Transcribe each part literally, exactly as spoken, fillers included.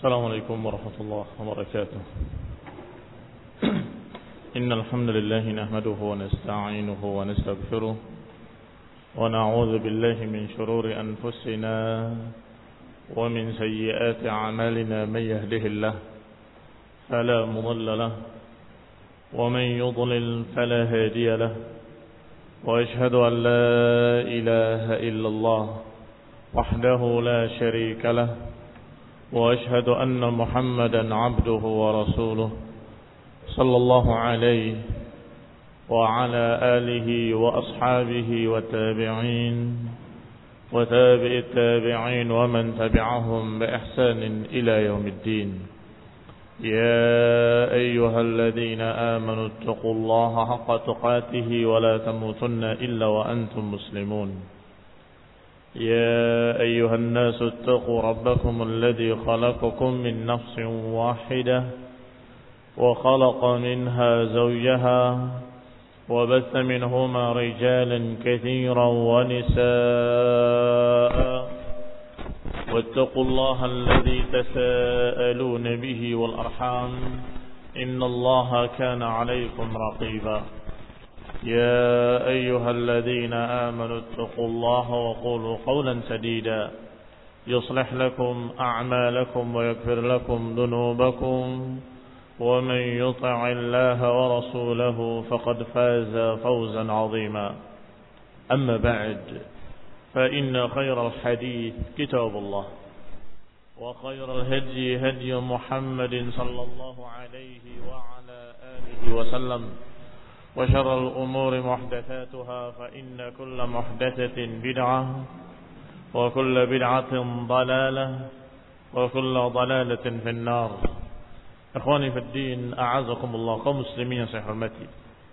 السلام عليكم ورحمة الله وبركاته. إن الحمد لله نحمده ونستعينه ونستغفره ونعوذ بالله من شرور أنفسنا ومن سيئات أعمالنا. من يهده الله فلا مضل له ومن يضلل فلا هادي له، وأشهد أن لا إله إلا الله وحده لا شريك له، وأشهد أن محمدا عبده ورسوله صلى الله عليه وعلى آله وأصحابه والتابعين وتابع التابعين ومن تبعهم بإحسان إلى يوم الدين. يا أيها الذين آمنوا اتقوا الله حق تقاته ولا تموتن إلا وأنتم مسلمون. يا أيها الناس اتقوا ربكم الذي خلقكم من نفس واحدة وخلق منها زوجها وبث منهما رجالا كثيرا ونساء، واتقوا الله الذي تساءلون به والأرحام إن الله كان عليكم رقيبا. يا أيها الذين آمنوا اتقوا الله وقولوا قولا سديدا يصلح لكم أعمالكم ويغفر لكم ذنوبكم، ومن يطع الله ورسوله فقد فاز فوزا عظيما. أما بعد، فإن خير الحديث كتاب الله، وخير الهدي هدي محمد صلى الله عليه وعلى آله وسلم، وشر الأمور محدثاتها، فإن كل محدثة بدعة وكل بدعة ضلالة وكل ضلالة في النار. Ikhwani fi din, a'azakumullah, kaum muslimin yang saya hormati.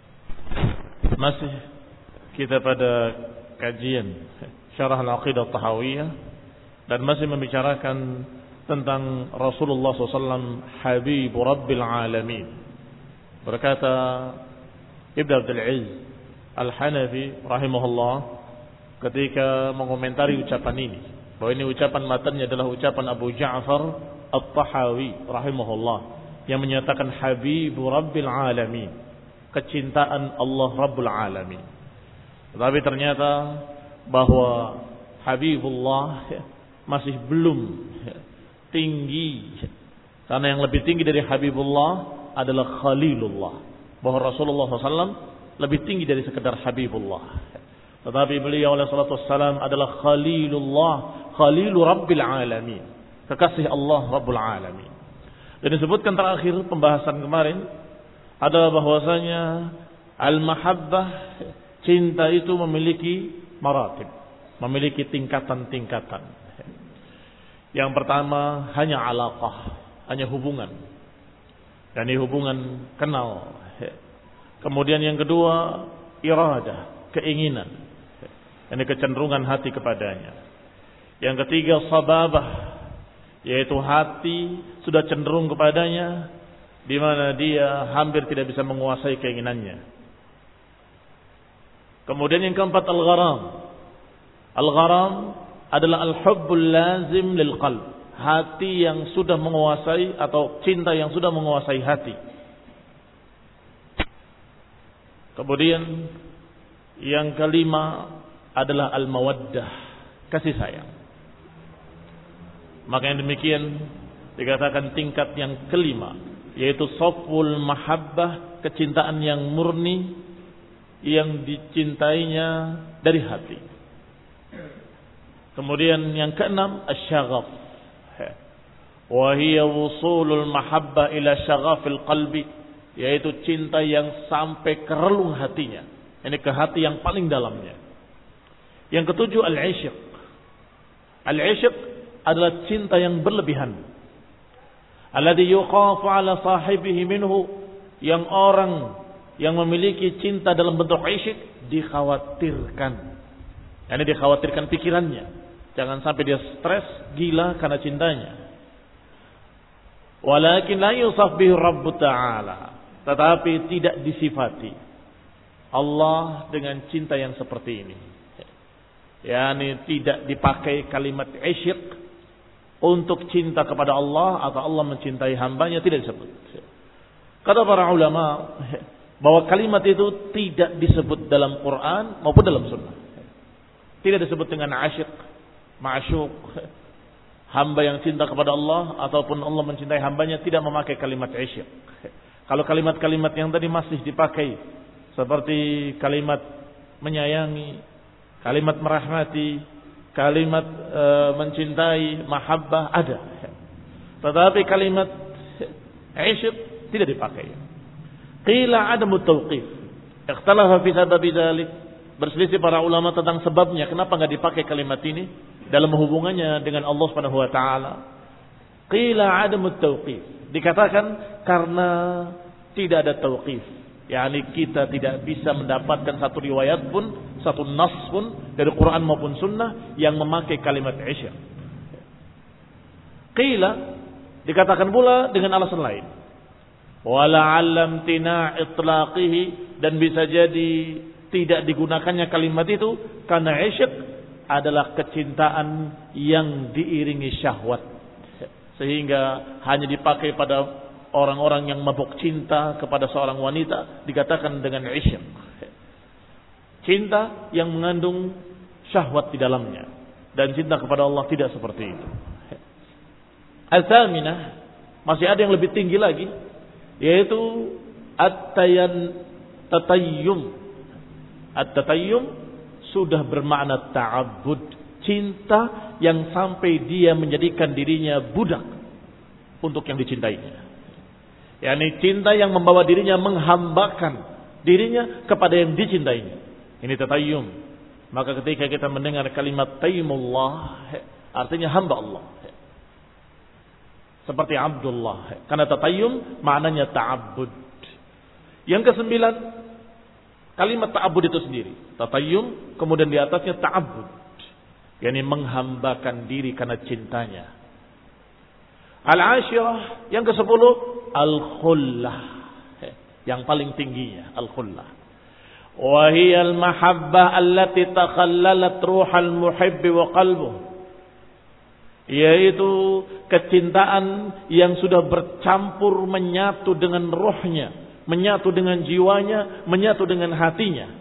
Masih kita pada kajian Syarah Al-Aqidah Tahawiyah dan masih membicarakan tentang Rasulullah sallallahu alaihi wasallam Habibu Rabbil Alamin. Berkata Ibnu Abdul Aziz Al-Hanafi rahimahullah ketika mengomentari ucapan ini, bahwa ini ucapan matanya adalah ucapan Abu Ja'far At-Tahawi rahimahullah yang menyatakan Habibu Rabbil Alamin, kecintaan Allah Rabbul Alamin. Tetapi ternyata bahwa Habibullah masih belum tinggi, karena yang lebih tinggi dari Habibullah adalah Khalilullah, bahwa Rasulullah sallallahu alaihi wasallam lebih tinggi dari sekedar Habibullah. Tetapi beliau alaihi salatu wassalam adalah Khalilullah, Khalilu Rabbil Alamin, kekasih Allah Rabbul Alamin. Dan disebutkan terakhir pembahasan kemarin adalah bahwasanya al-mahabbah, cinta itu memiliki maratib, memiliki tingkatan-tingkatan. Yang pertama hanya alaqah, hanya hubungan. Dan ini hubungan kenal. Kemudian yang kedua iradah, keinginan. Ini kecenderungan hati kepadanya. Yang ketiga sababah, yaitu hati sudah cenderung kepadanya, di mana dia hampir tidak bisa menguasai keinginannya. Kemudian yang keempat al-gharam. Al-gharam adalah al-hubbul lazim lil qalb, hati yang sudah menguasai atau cinta yang sudah menguasai hati. Kemudian yang kelima adalah al-mawaddah, kasih sayang. Maka yang demikian dikatakan tingkat yang kelima, yaitu saful mahabbah, kecintaan yang murni yang dicintainya dari hati. Kemudian yang keenam asy-syaghaf, wa hiya wusulul mahabbah ila syaghafil qalbi, yaitu cinta yang sampai ke relung hatinya, ini ke hati yang paling dalamnya. Yang ketujuh al-'ishq. Al-'ishq adalah cinta yang berlebihan, alladhi yuqafu ala sahibihi minhu, yang orang yang memiliki cinta dalam bentuk isyq dikhawatirkan, yani dikhawatirkan pikirannya, jangan sampai dia stres gila karena cintanya. Walakin la yusaf bihi Rabb Ta'ala, tetapi tidak disifati Allah dengan cinta yang seperti ini, yani tidak dipakai kalimat isyq untuk cinta kepada Allah atau Allah mencintai hambanya, tidak disebut. Kata para ulama bahwa kalimat itu tidak disebut dalam Quran maupun dalam Sunnah. Tidak disebut dengan asyik, ma'syuq, hamba yang cinta kepada Allah ataupun Allah mencintai hambanya, tidak memakai kalimat asyik. Kalau kalimat-kalimat yang tadi masih dipakai seperti kalimat menyayangi, kalimat merahmati, kalimat e, mencintai, mahabbah ada. Tetapi kalimat asyik tidak dipakai. Qila adamu tauqif. Ikhtalafa fi sababi dzalik. Berselisih para ulama tentang sebabnya kenapa enggak dipakai kalimat ini dalam hubungannya dengan Allah Subhanahu wa taala. Qila adamu tauqif. Dikatakan karena tidak ada tauqif. yakni kita tidak bisa mendapatkan satu riwayat pun, satu nas pun dari Quran maupun sunnah yang memakai kalimat isya. Qila, dikatakan pula dengan alasan lain. Wala'allam tina itlaqihi, dan bisa jadi tidak digunakannya kalimat itu karena isyak adalah kecintaan yang diiringi syahwat, sehingga hanya dipakai pada orang-orang yang mabuk cinta kepada seorang wanita dikatakan dengan isyak. Cinta yang mengandung syahwat di dalamnya, dan cinta kepada Allah tidak seperti itu. Al-thaminah, masih ada yang lebih tinggi lagi, yaitu at-tayan tatayyum. At-tatayyum sudah bermakna ta'abbud, cinta yang sampai dia menjadikan dirinya budak untuk yang dicintainya. yakni cinta yang membawa dirinya menghambakan dirinya kepada yang dicintainya. Ini tatayyum. Maka ketika kita mendengar kalimat tayyumullah, artinya hamba Allah, seperti Abdullah, karena tatayyum maknanya ta'abbud. Yang kesembilan, kalimat ta'abbud itu sendiri, tatayyum, kemudian di atasnya ta'abbud, yakni menghambakan diri karena cintanya. Al-ashirah, yang kesepuluh, al-khullah, yang paling tingginya al-khullah. Wa hiya al-mahabbah allati takhallalat ruhal muhibbi wa qalbuh, yaitu kecintaan yang sudah bercampur menyatu dengan rohnya, menyatu dengan jiwanya, menyatu dengan hatinya.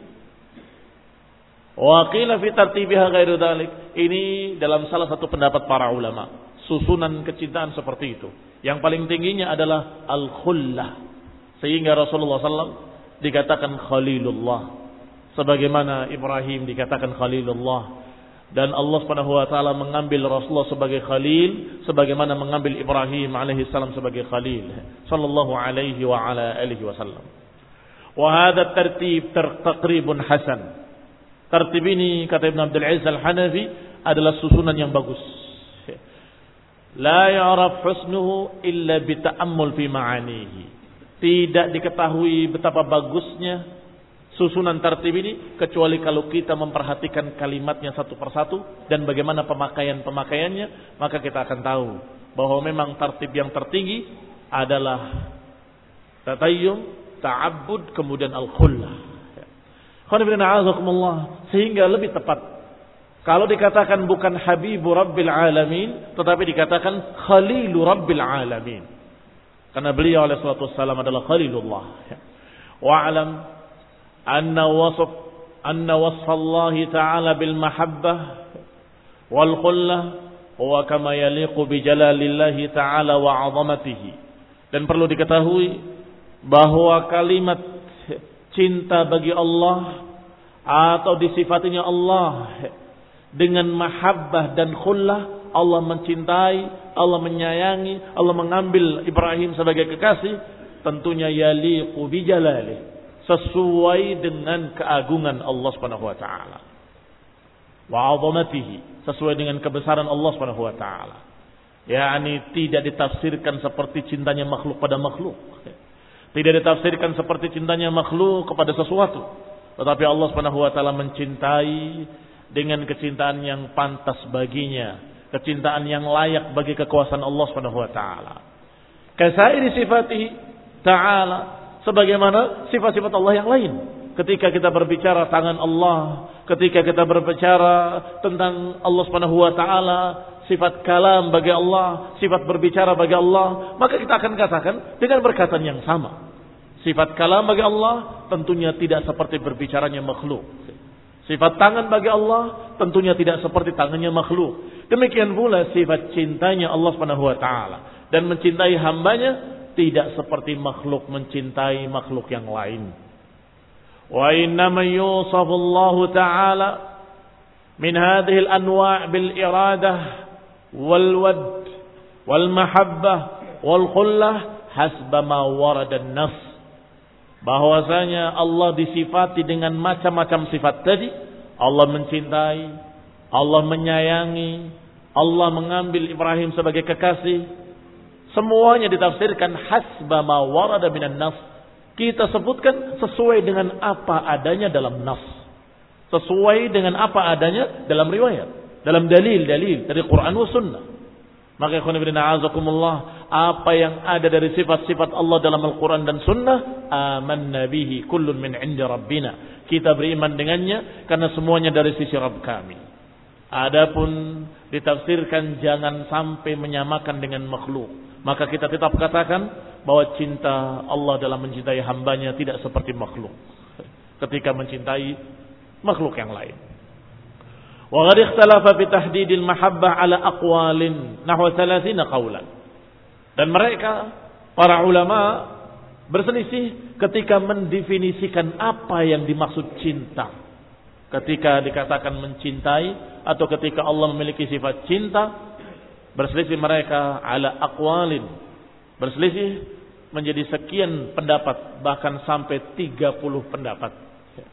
Wa qila fi tartibiha ghairu dzalik. Ini dalam salah satu pendapat para ulama, susunan kecintaan seperti itu. Yang paling tingginya adalah al-khullah, sehingga Rasulullah sallallahu alaihi wasallam dikatakan Khalilullah, sebagaimana Ibrahim dikatakan Khalilullah, dan Allah Subhanahu wa taala mengambil Rasulullah sebagai khalil sebagaimana mengambil Ibrahim alaihi salam sebagai khalil sallallahu alaihi wa ala alihi wasallam. Wa hadha tartib taqribun hasan. Tertib ini, kata Ibn Abdul Aziz Al-Hanafi, adalah susunan yang bagus. La ya'raf husnuhu illa bita'ammul fi ma'anihi. Tidak diketahui betapa bagusnya susunan tertib ini kecuali kalau kita memperhatikan kalimatnya satu persatu dan bagaimana pemakaian-pemakaiannya, maka kita akan tahu bahwa memang tertib yang tertinggi adalah tatayyum, ta'abbud, kemudian al-khullah. Sehingga lebih tepat kalau dikatakan bukan Habibu Rabbil Alamin, tetapi dikatakan Khalilu Rabbil Alamin, karena beliau alaihi salatu wassalam adalah Khalilullah. Wa'alam anna wasf anna wasf Allah Ta'ala bil mahabbah wal khullah huwa kama yaliqu bi jalalillahi Ta'ala wa 'azamatihi. Dan perlu diketahui bahwa kalimat cinta bagi Allah atau disifatinya Allah dengan mahabbah dan khullah, Allah mencintai, Allah menyayangi, Allah mengambil Ibrahim sebagai kekasih, tentunya yaliqu bi jalalihi, sesuai dengan keagungan Allah Subhanahu wa taala, wa 'azamatihi, sesuai dengan kebesaran Allah Subhanahu wa taala. yakni tidak ditafsirkan seperti cintanya makhluk pada makhluk. Tidak ditafsirkan seperti cintanya makhluk kepada sesuatu, tetapi Allah Subhanahu wa taala mencintai dengan kecintaan yang pantas baginya, kecintaan yang layak bagi kekuasaan Allah Subhanahu wa taala. Kasairi sifatihi ta'ala, sebagaimana sifat-sifat Allah yang lain. Ketika kita berbicara tangan Allah, ketika kita berbicara tentang Allah Subhanahu wa taala, sifat kalam bagi Allah, sifat berbicara bagi Allah, maka kita akan katakan dengan perkataan yang sama. Sifat kalam bagi Allah tentunya tidak seperti berbicaranya makhluk. Sifat tangan bagi Allah tentunya tidak seperti tangannya makhluk. Demikian pula sifat cintanya Allah Subhanahu wa taala dan mencintai hambanya tidak seperti makhluk mencintai makhluk yang lain. Wa innama yusafu Allah taala min hadhihi al-anwa' bil iradah wal wad wal mahabbah wal khullah hasba ma warada an-nass. Bahwasanya Allah disifati dengan macam-macam sifat tadi. Allah mencintai, Allah menyayangi, Allah mengambil Ibrahim sebagai kekasih. Semuanya ditafsirkan hasba ma warada minan nas. Kita sebutkan sesuai dengan apa adanya dalam nas. Sesuai dengan apa adanya dalam riwayat, dalam dalil-dalil dari Quran wa sunnah. Maka ikhwan fillah azakumullah, apa yang ada dari sifat-sifat Allah dalam Al-Quran dan Sunnah, amanna bihi kullun min 'indi rabbina. Kita beriman dengannya karena semuanya dari sisi Rabb kami. Adapun ditafsirkan jangan sampai menyamakan dengan makhluk. Maka kita tetap katakan bahwa cinta Allah dalam mencintai hambanya tidak seperti makhluk ketika mencintai makhluk yang lain. Wa qad ikhtalafa fi tahdidil mahabbah ala aqwalin nahwa thalathina qawlan. Dan mereka para ulama berselisih ketika mendefinisikan apa yang dimaksud cinta. Ketika dikatakan mencintai atau ketika Allah memiliki sifat cinta, berselisih mereka ala aqwalin. Berselisih menjadi sekian pendapat, bahkan sampai tiga puluh pendapat.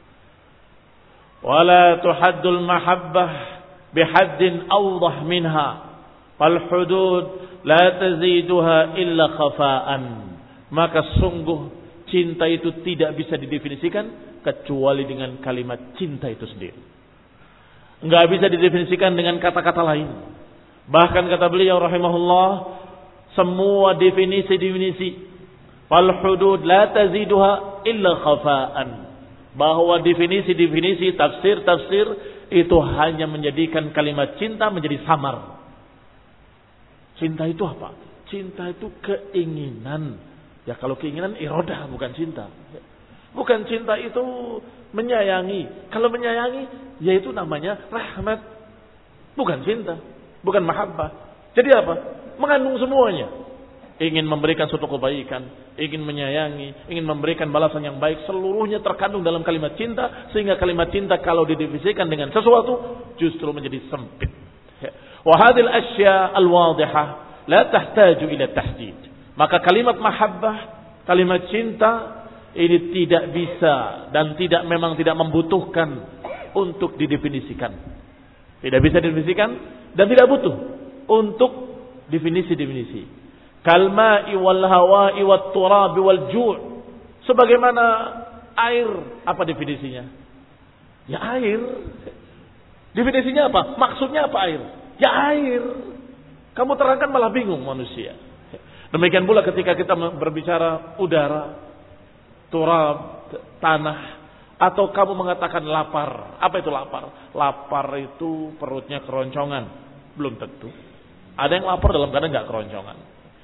Wala tuhaddul mahabbah bihaddin awdah minha fal hudud la taziduha illa khafa'an. Maka sungguh cinta itu tidak bisa didefinisikan kecuali dengan kalimat cinta itu sendiri. Enggak bisa didefinisikan dengan kata-kata lain. Bahkan kata beliau rahimahullah, semua definisi-definisi fal hudud la taziduha illa khafa'an, bahwa definisi-definisi, tafsir-tafsir itu hanya menjadikan kalimat cinta menjadi samar. Cinta itu apa? Cinta itu keinginan. Ya kalau keinginan iradah, bukan cinta. Bukan cinta itu menyayangi. Kalau menyayangi, yaitu namanya rahmat. Bukan cinta, bukan mahabbah. Jadi apa? Mengandung semuanya. Ingin memberikan suatu kebaikan, ingin menyayangi, ingin memberikan balasan yang baik, seluruhnya terkandung dalam kalimat cinta, sehingga kalimat cinta kalau didefinisikan dengan sesuatu justru menjadi sempit. Wa hadhil asya al-wadihah la tahtaju ila tahdid. Maka kalimat mahabbah, kalimat cinta ini tidak bisa dan tidak memang tidak membutuhkan untuk didefinisikan. Tidak bisa didefinisikan dan tidak butuh untuk definisi-definisi. Kalma'i wal hawa'i wat turabi wal ju'. Sebagaimana air, apa definisinya? Ya air. Definisinya apa? Maksudnya apa air? Ya air. Kamu terangkan malah bingung manusia. Demikian pula ketika kita berbicara udara, turab, tanah, atau kamu mengatakan lapar. Apa itu lapar? Lapar itu perutnya keroncongan. Belum tentu. Ada yang lapar dalam keadaan enggak keroncongan.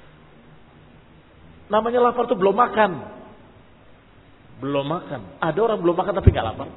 Namanya lapar itu belum makan. Belum makan. Ada orang belum makan tapi enggak lapar.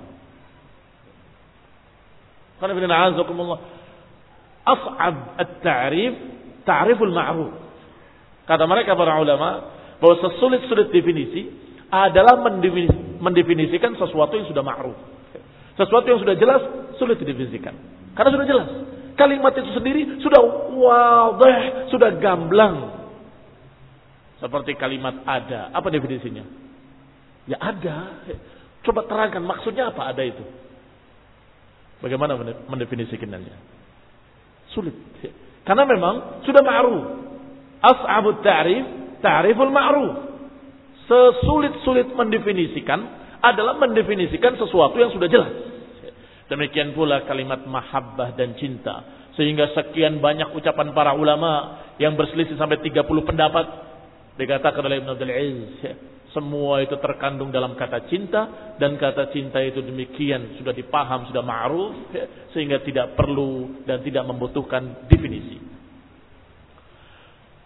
Karena bin a'azakumullah, as'ab at-ta'rif ta'riful ma'ruf. Kata mereka para ulama bahwa sesulit-sulit definisi adalah mendefinisikan sesuatu yang sudah ma'ruf. Sesuatu yang sudah jelas sulit didefinisikan. Karena sudah jelas. Kalimat itu sendiri sudah wadih, sudah gamblang. Seperti kalimat ada. Apa definisinya? Ya ada. Coba terangkan maksudnya apa ada itu. Bagaimana mendefinisikannya? Sulit. Karena memang sudah ma'ruf. As'abut ta'rif, ta'riful ma'ruf. Sesulit-sulit mendefinisikan adalah mendefinisikan sesuatu yang sudah jelas. Demikian pula kalimat mahabbah dan cinta. Sehingga sekian banyak ucapan para ulama yang berselisih sampai tiga puluh pendapat. Dikatakan oleh Ibn Abdul Aziz, semua itu terkandung dalam kata cinta, dan kata cinta itu demikian sudah dipaham, sudah ma'ruf, sehingga tidak perlu dan tidak membutuhkan definisi.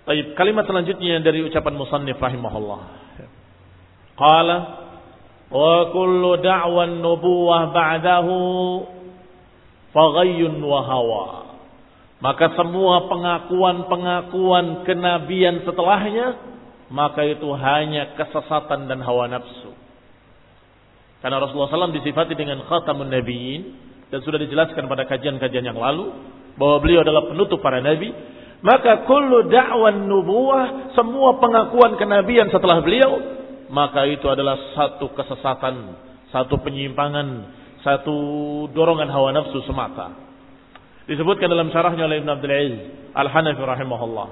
Baik, kalimat selanjutnya dari ucapan musannif rahimahullah. Qala wa kullu da'wan nubuwah ba'dahu faghayyun wa hawa. Maka semua pengakuan-pengakuan kenabian setelahnya, maka itu hanya kesesatan dan hawa nafsu. Karena Rasulullah shallallahu alaihi wasallam disifati dengan khatamun nabiyyin, dan sudah dijelaskan pada kajian-kajian yang lalu bahwa beliau adalah penutup para nabi. Maka kullu da'wan nubuwah, semua pengakuan kenabian setelah beliau, maka itu adalah satu kesesatan, satu penyimpangan, satu dorongan hawa nafsu semata. Disebutkan dalam syarahnya oleh Ibn Abdul Aziz Al-Hanafi rahimahullah.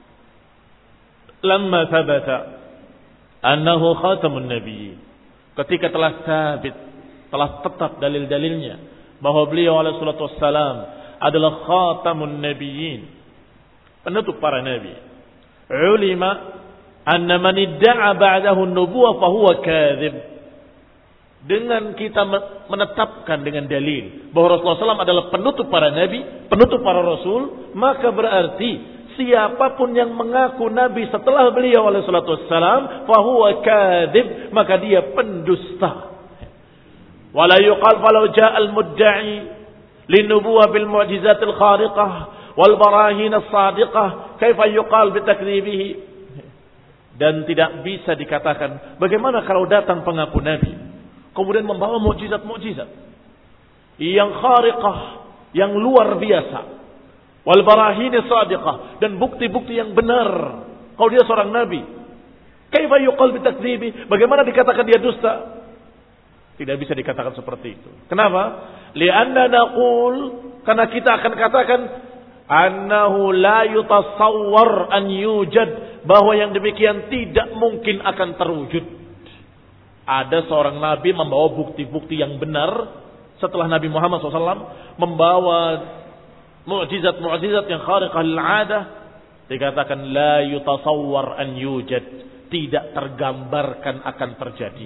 Lamma thabata annahu khatamun nabiyyin. Ketika telah sabit, telah tetap dalil-dalilnya bahwa beliau alaihi salatu wassalam adalah khatamun nabiyyin, penutup para nabi. Ulima anna man idda'a ba'dahu an-nubuwah fa huwa kadzib. Dengan kita menetapkan dengan dalil bahwa Rasulullah shallallahu alaihi wasallam adalah penutup para nabi, penutup para rasul, maka berarti siapapun yang mengaku nabi setelah beliau alaihi salatu wassalam fa huwa kadzib, maka dia pendusta. Wala yuqal falau ja'a al-mudda'i linubuwah bil mu'jizatil khariqah wal barahin as-sadiqah kaifa yuqal bi takdzibihi. Dan tidak bisa dikatakan bagaimana kalau datang pengaku nabi kemudian membawa mukjizat-mukjizat yang khariqah, yang luar biasa, wal barahin as-sadiqah, dan bukti-bukti yang benar kalau dia seorang nabi. Kaifa yuqal bi takdzibi, bagaimana dikatakan dia dusta? Tidak bisa dikatakan seperti itu. Kenapa? Li'anna naqul, karena kita akan katakan annahu la yutasawwar an yujad, bahwa yang demikian tidak mungkin akan terwujud. Ada seorang nabi membawa bukti-bukti yang benar setelah Nabi Muhammad shallallahu alaihi wasallam membawa mukjizat-mukjizat yang khariqah lil 'adah, dikatakan la yutasawwar an yujad, tidak tergambarkan akan terjadi.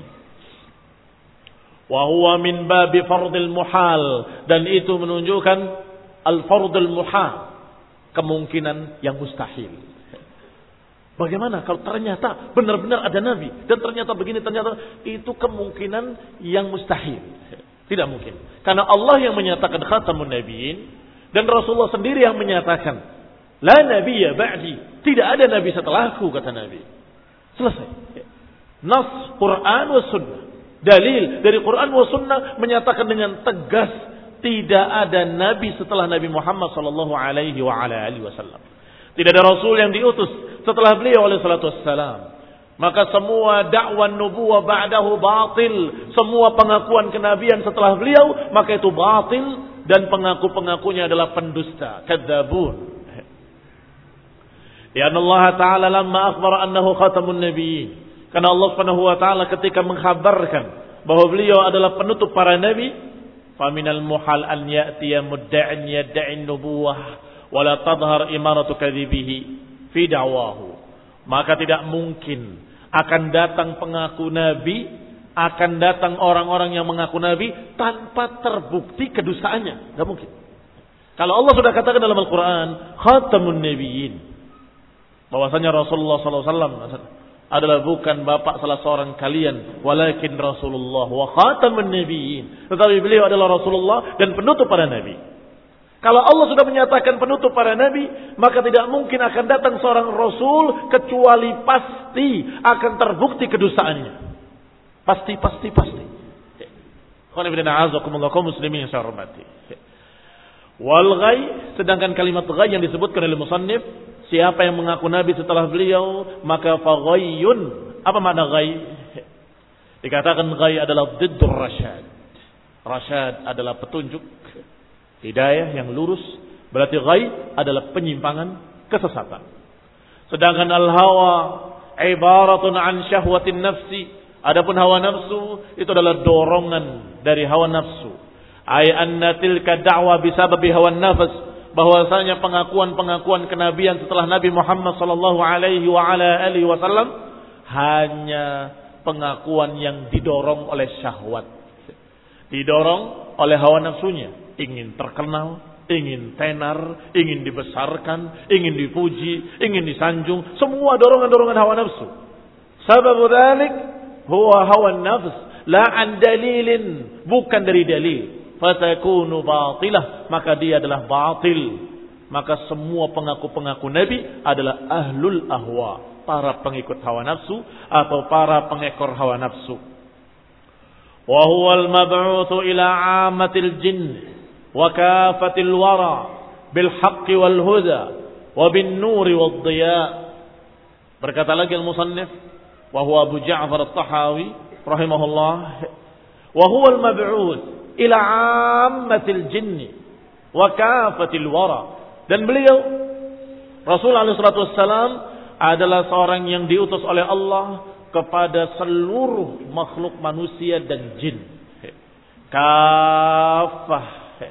Wa huwa min babi fardil muhal, dan itu menunjukkan al-fardul muhal, kemungkinan yang mustahil. Bagaimana kalau ternyata benar-benar ada nabi dan ternyata begini, ternyata itu kemungkinan yang mustahil. Tidak mungkin. Karena Allah yang menyatakan khatamun nabiyyin dan Rasulullah sendiri yang menyatakan la nabiyya ba'di, tidak ada nabi setelahku, kata Nabi. Selesai. Nas Quran wa sunnah. Dalil dari Quran wa sunnah menyatakan dengan tegas tidak ada nabi setelah Nabi Muhammad sallallahu alaihi wa ala alihi wasallam. Tidak ada rasul yang diutus setelah beliau alaihi salatu wassalam. Maka semua dakwah nubuwah ba'dahu batil, semua pengakuan kenabian setelah beliau maka itu batil, dan pengaku-pengakunya adalah pendusta, kadzabun. Ya Allah Ta'ala lamma akhbara annahu khatamun nabiyyin, karena Allah Subhanahu wa taala ketika mengkhabarkan bahwa beliau adalah penutup para nabi, faminal muhal an ya'tiya mudda'in yad'in nubuwah wala tadhhar imaratu kadzibihi fi da'wahu. Maka tidak mungkin akan datang pengaku nabi, akan datang orang-orang yang mengaku nabi tanpa terbukti kedustaannya. Enggak mungkin. Kalau Allah sudah katakan dalam Al-Qur'an khatamun nabiyyin, bahwasanya Rasulullah sallallahu alaihi wasallam adalah bukan bapak salah seorang kalian, walakin Rasulullah wa khatamun nabiyyin, tetapi beliau adalah Rasulullah dan penutup para nabi. Kalau Allah sudah menyatakan penutup para nabi, maka tidak mungkin akan datang seorang rasul kecuali pasti akan terbukti kedustaannya. Pasti, pasti, pasti. Qul inna a'udzubikumullah kaum muslimin yang saya hormati. Wal ghai, sedangkan kalimat ghai yang disebutkan oleh musannif, siapa yang mengaku nabi setelah beliau, maka faghayyun. Apa makna ghai? Dikatakan ghai adalah diddur rasyad. Rasyad adalah petunjuk, hidayah yang lurus, berarti ghai adalah penyimpangan, kesesatan. Sedangkan al-hawa ibaratun an syahwatin nafsi, adapun hawa nafsu itu adalah dorongan dari hawa nafsu. Ay anna tilka da'wa bisababi hawa nafs, bahwasanya pengakuan-pengakuan kenabian setelah Nabi Muhammad sallallahu alaihi wa ala alihi wasallam hanya pengakuan yang didorong oleh syahwat, didorong oleh hawa nafsunya, ingin terkenal, ingin tenar, ingin dibesarkan, ingin dipuji, ingin disanjung, semua dorongan-dorongan hawa nafsu. Sebab dzalik huwa hawa nafs, la an dalilin, bukan dari dalil. Fatakunu batilah, maka dia adalah batil. Maka semua pengaku-pengaku Nabi adalah ahlul ahwa, para pengikut hawa nafsu atau para pengekor hawa nafsu. Wa huwal mab'utsu ila 'ammatil jinn wa kafatil wara bil haqqi wal huda wa bin nuri wad dhiya. Berkata lagi al-musannif wa huwa Abu Ja'far at-Tahawi rahimahullah, wa huwal mab'uts ila 'ammatil jinn wa kafatil wara. Dan beliau Rasulullah shallallahu alaihi wasallam adalah seorang yang diutus oleh Allah kepada seluruh makhluk manusia dan jin. Kafah.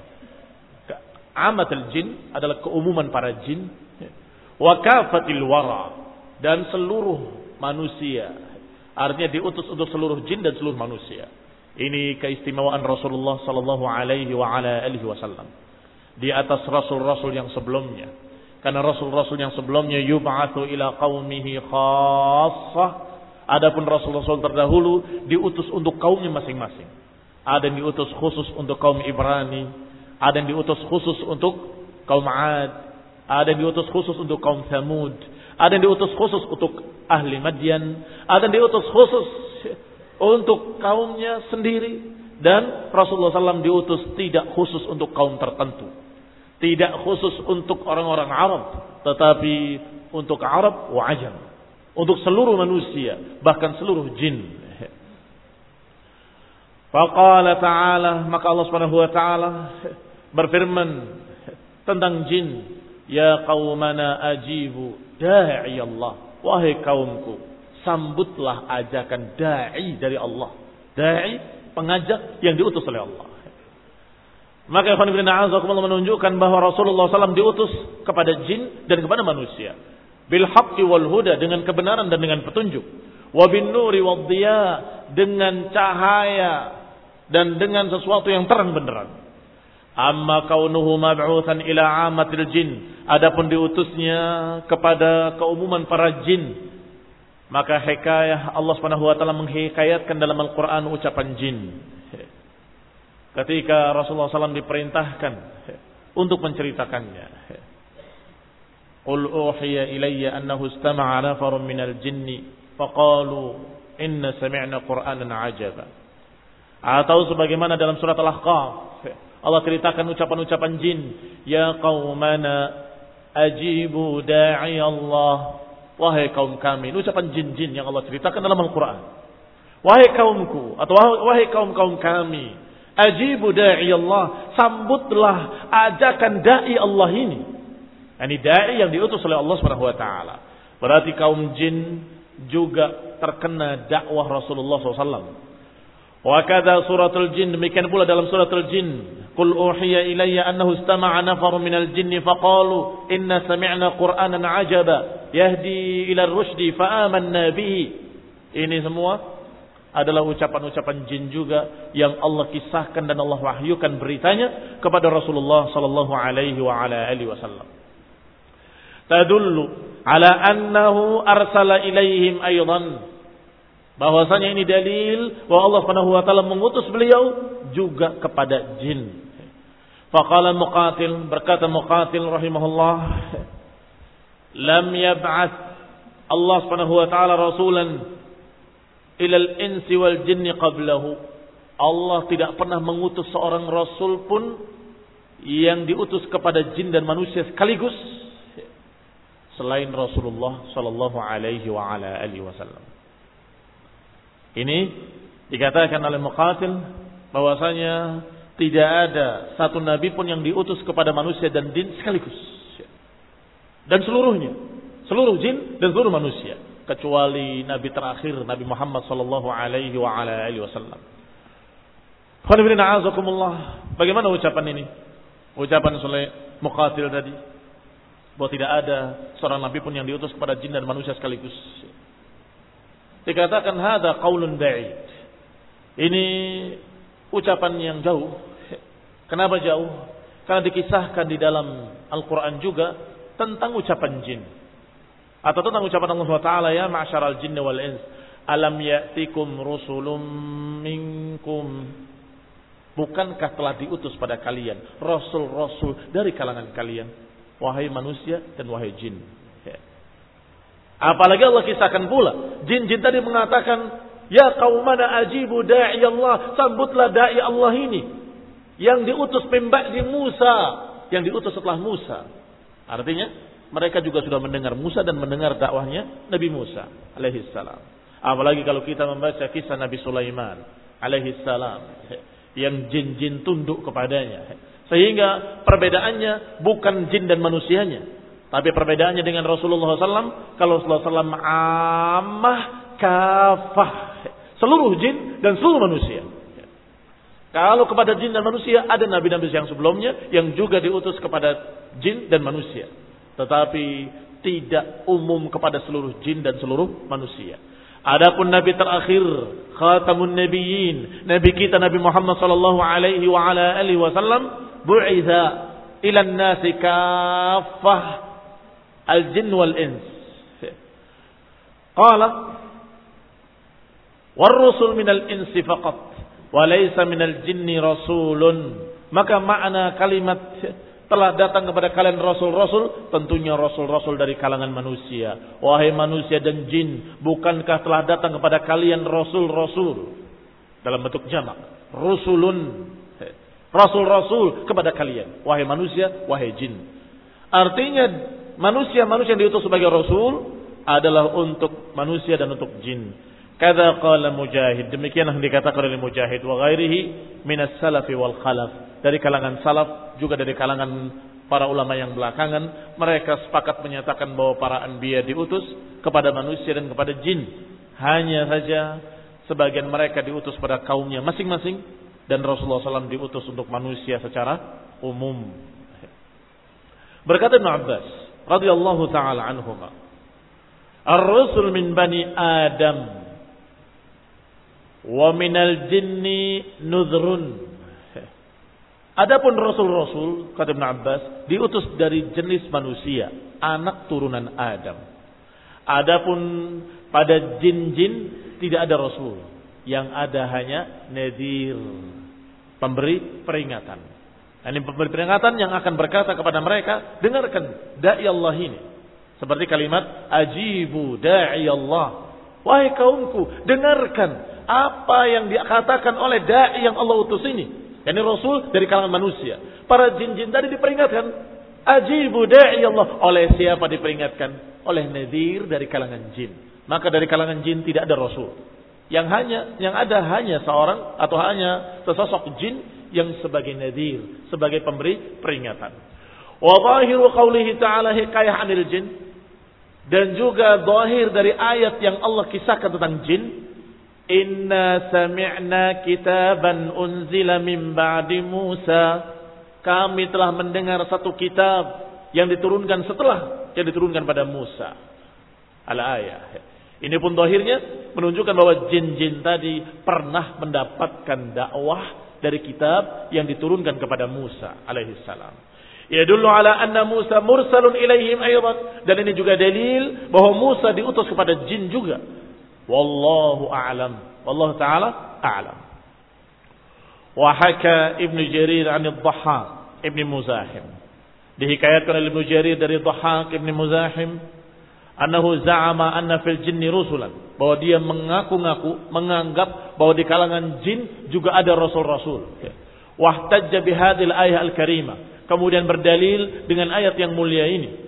Amatul jin adalah keumuman para jin. Wa kafatil wara, dan seluruh manusia. Artinya diutus untuk seluruh jin dan seluruh manusia. Ini keistimewaan Rasulullah sallallahu alaihi wa ala alihi wasallam di atas rasul-rasul yang sebelumnya. Karena rasul-rasul yang sebelumnya yub'atsu ila qaumihi khassah. Adapun rasul-rasul terdahulu diutus untuk kaumnya masing-masing. Ada yang diutus khusus untuk kaum Ibrani, ada yang diutus khusus untuk kaum 'Ad, ada yang diutus khusus untuk kaum Tsamud, ada yang diutus khusus untuk ahli Madyan, ada yang diutus khusus untuk kaumnya sendiri, dan Rasulullah sallallahu alaihi wasallam diutus tidak khusus untuk kaum tertentu. Tidak khusus untuk orang-orang Arab, tetapi untuk Arab wa Ajam. Untuk seluruh manusia, bahkan seluruh jin. Faqala ta'ala, maka Allah Subhanahu wa taala berfirman tentang jin, ya qaumana ajibu da'i Allah. Wahai kaumku, sambutlah ajakan dai dari Allah. Dai, pengajak yang diutus oleh Allah. Maka ikhwan fillah azakumullah menunjukkan bahwa Rasulullah sallallahu alaihi wasallam diutus kepada jin dan kepada manusia. Bil haqqi wal huda, dengan kebenaran dan dengan petunjuk. Wa bin nuri wad dhiya, dengan cahaya dan dengan sesuatu yang terang benderang. Amma kaunuhu mab'utsan ila 'ammatil jin, adapun diutusnya kepada keumuman para jin, maka hikayah Allah Subhanahu wa taala menghikayatkan dalam Al-Qur'an ucapan jin. Ketika Rasulullah sallallahu alaihi wasallam diperintahkan untuk menceritakannya. Qul uhiya ilayya annahu istama'a nafarun minal jinni faqalu inna sami'na qur'anan 'ajaba. Atau sebagaimana dalam surat Al-Ahqaf Allah ceritakan ucapan-ucapan jin, ya qaumana ajibu da'i Allah. Wahai kaum kami, ini ucapan jin-jin yang Allah ceritakan dalam Al-Qur'an. Wahai kaumku atau wahai kaum-kaum kami, ajibu da'i Allah, sambutlah ajakan dai Allah ini. Ini dai yang diutus oleh Allah Subhanahu wa taala. Berarti kaum jin juga terkena dakwah Rasulullah sallallahu alaihi wasallam. Wa kadza suratul jin, demikian pula dalam suratul jin, qul uhiya ilayya annahu istama'a nafarun minal jinni faqalu inna sami'na qur'anan 'ajaba yahdi ila ar-rusydi fa amanna bihi. Ini semua adalah ucapan-ucapan jin juga yang Allah kisahkan dan Allah wahyukan beritanya kepada Rasulullah sallallahu alaihi wa ala alihi wasallam. Tadullu ala annahu arsala ilaihim aidan, bahwasanya ini dalil bahwa Allah Subhanahu wa taala mengutus beliau juga kepada jin. Faqala Muqatil, berkata Muqatil rahimahullah, lam yab'ats Allah Subhanahu wa taala rasulan ila al-insi wal jinni qablahu. Allah tidak pernah mengutus seorang rasul pun yang diutus kepada jin dan manusia sekaligus selain Rasulullah sallallahu alaihi wa ala alihi wasallam. Ini dikatakan oleh Muqatil bahwasanya tidak ada satu nabi pun yang diutus kepada manusia dan jin sekaligus. Dan seluruhnya, seluruh jin dan seluruh manusia, kecuali nabi terakhir Nabi Muhammad sallallahu alaihi wa ala alihi wasallam. Bagaimana ucapan ini? Ucapan oleh Muqatil tadi bahwa tidak ada seorang nabi pun yang diutus kepada jin dan manusia sekaligus. Dikatakan hadza qaulun ba'id. Ini ucapan yang jauh. Kenapa jauh? Karena dikisahkan di dalam Al-Quran juga tentang ucapan jin. Atau tentang ucapan Allah subhanahu wa taala, ya ma'syaral jinni wal ins, alam ya'tikum rusulun minkum. Bukankah telah diutus pada kalian rasul-rasul dari kalangan kalian, wahai manusia dan wahai jin. Ya. Apalagi Allah kisahkan pula, jin-jin tadi mengatakan, ya qaumana ajibu da'i Allah, sambutlah da'i Allah ini yang diutus min ba'di Musa, yang diutus setelah Musa. Artinya mereka juga sudah mendengar Musa dan mendengar dakwahnya Nabi Musa alaihi salam. Apalagi kalau kita membaca kisah Nabi Sulaiman alaihi salam, yang jin-jin tunduk kepadanya. Sehingga perbedaannya bukan jin dan manusianya, tapi perbedaannya dengan Rasulullah shallallahu alaihi wasallam. Kalau Rasulullah shallallahu alaihi wasallam ammah kafah, seluruh jin dan seluruh manusia. Kalau kepada jin dan manusia ada nabi-nabi yang sebelumnya yang juga diutus kepada jin dan manusia, tetapi tidak umum kepada seluruh jin dan seluruh manusia. Adapun nabi terakhir, khatamun nabiyyin, nabi kita Nabi Muhammad sallallahu alaihi wa ala alihi wasallam, bu'itha ila an-nasi kaffah al-jinn wal ins. Qala war-rusul minal insi faqat wa laysa minal jinni rasulun. Maka makna kalimat telah datang kepada kalian rasul-rasul, tentunya rasul-rasul dari kalangan manusia. Wahai manusia dan jin, bukankah telah datang kepada kalian rasul-rasul dalam bentuk jamak, rusulun, rasul-rasul kepada kalian, wahai manusia, wahai jin. Artinya manusia-manusia yang diutus sebagai rasul adalah untuk manusia dan untuk jin. Kadza qala Mujahid, demikianlah dikatakan oleh Mujahid wa ghairihi minas salafi wal khalaf. Dari kalangan salaf, juga dari kalangan para ulama yang belakangan, mereka sepakat menyatakan bahwa para anbiya diutus kepada manusia dan kepada jin. Hanya saja sebagian mereka diutus pada kaumnya masing-masing, dan Rasulullah shallallahu alaihi wasallam diutus untuk manusia secara umum. Berkata Ibn Abbas radhiyallahu taala anhuma, ar-rusul min bani Adam wa minal jinni nudhrun. Adapun rasul-rasul, kata Ibn Abbas, diutus dari jenis manusia, anak turunan Adam. Adapun pada jin-jin tidak ada rasul, yang ada hanya nadhir, pemberi peringatan. Ini pemberi peringatan yang akan berkata kepada mereka, dengarkan da'i Allah ini. Seperti kalimat ajibu da'i Allah, wahai kaumku, dengarkan apa yang dikatakan oleh da'i yang Allah utus ini. Yani Rasul dari kalangan manusia. Para jin-jin tadi diperingatkan, ajibu da'i Allah. Oleh siapa diperingatkan? Oleh nadhir dari kalangan jin. Maka dari kalangan jin tidak ada Rasul. Yang hanya yang ada hanya seorang atau hanya sesosok jin yang sebagai nadhir, sebagai pemberi peringatan. Wa zahiru qaulihi ta'ala hikayah 'anil jin, dan juga zahir dari ayat yang Allah kisahkan tentang jin. Inna sami'na kitaban unzila min ba'di Musa. Kami telah mendengar satu kitab yang diturunkan setelah yang diturunkan pada Musa. Al-ayah. Ini pun zahirnya menunjukkan bahwa jin-jin tadi pernah mendapatkan dakwah dari kitab yang diturunkan kepada Musa alaihi salam. Yadullu ala anna Musa mursalun ilaihim aydan. Dan ini juga dalil bahwa Musa diutus kepada jin juga. Wallahu a'lam. Wallahu ta'ala a'lam. Wa haka Ibn Jarir 'an ad-Dhahhak Ibn Muzahim. Dihikayatkan oleh Ibn Jarir dari Dhahhak Ibn Muzahim, annahu za'ama anna fil jinni rusulan, bahwa dia mengaku-ngaku, menganggap bahwa di kalangan jin juga ada rasul-rasul. Wahtajja bihadhil ayah al-karimah, kemudian berdalil dengan ayat yang mulia ini.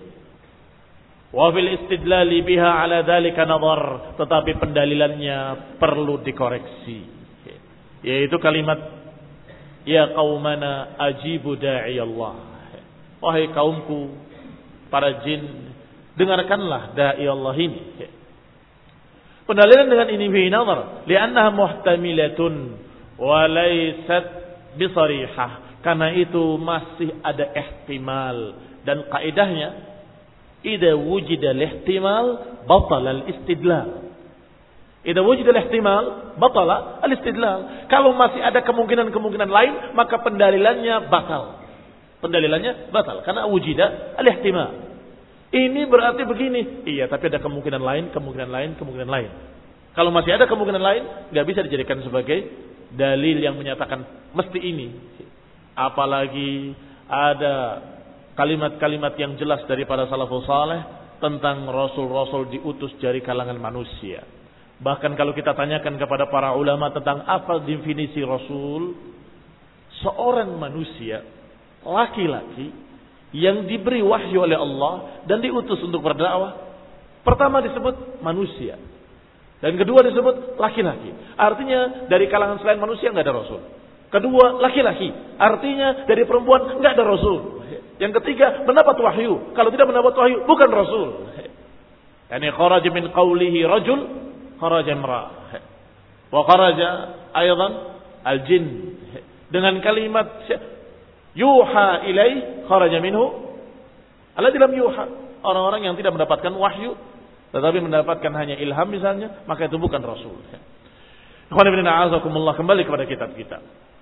Wa fil istidlali biha ala dzalika nadhar, tetapi pendalilannya perlu dikoreksi, yaitu kalimat ya qaumana ajibu da'i Allah, wahai kaumku para jin, dengarkanlah da'i Allah ini. Pendalilan dengan ini fi nadhar li'annaha muhtamilatun wa laysat bisarihah, karena itu masih ada ihtimal, dan kaidahnya idza wujida al-ihtimal batala al-istidlal. Idza wujida al-ihtimal batala al-istidlal. Kalau masih ada kemungkinan-kemungkinan lain, maka pendalilannya batal. Pendalilannya batal karena wujida al-ihtimal. Ini berarti begini. Iya, tapi ada kemungkinan lain, kemungkinan lain, kemungkinan lain. Kalau masih ada kemungkinan lain, nggak bisa dijadikan sebagai dalil yang menyatakan mesti ini. Apalagi ada kalimat-kalimat yang jelas dari para salafus saleh tentang rasul-rasul diutus dari kalangan manusia. Bahkan kalau kita tanyakan kepada para ulama tentang apa definisi rasul, seorang manusia, laki-laki yang diberi wahyu oleh Allah dan diutus untuk berdakwah, pertama disebut manusia. Dan kedua disebut laki-laki. Artinya dari kalangan selain manusia nggak ada rasul. Kedua laki-laki. Artinya dari perempuan nggak ada rasul. Yang ketiga mendapat wahyu. Kalau tidak mendapat wahyu bukan rasul. Yani kharaja min qawlihi rajul, kharaja imra'ah. Wa kharaja aydan al-jin. Dengan kalimat yuha ilaih kharaja minhu alladzi lam yuha. Orang-orang yang tidak mendapatkan wahyu tetapi mendapatkan hanya ilham misalnya, maka itu bukan rasul. Ikhwan fillah a'azakumullah, kembali kepada kitab kita.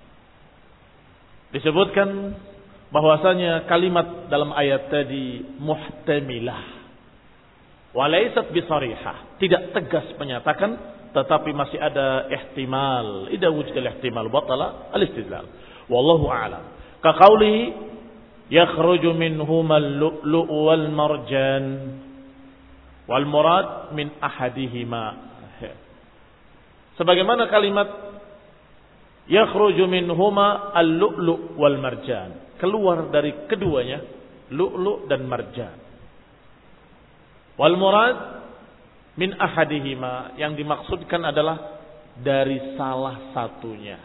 Disebutkan bahwasanya kalimat dalam ayat tadi muhtamilah. Walaysat bisarihah, tidak tegas menyatakan tetapi masih ada ihtimal. Idza wujida al-ihtimal batala al-istidlal. Wallahu a'lam. Ka qaulihi yakhruju minhuma al-lu'lu' wal marjan wal murad min ahadihima. Sebagaimana kalimat yakhruju minhuma al-lu'lu' wal marjan, keluar dari keduanya lu'lu' dan marjan. Wal murad min ahadihima, yang dimaksudkan adalah dari salah satunya.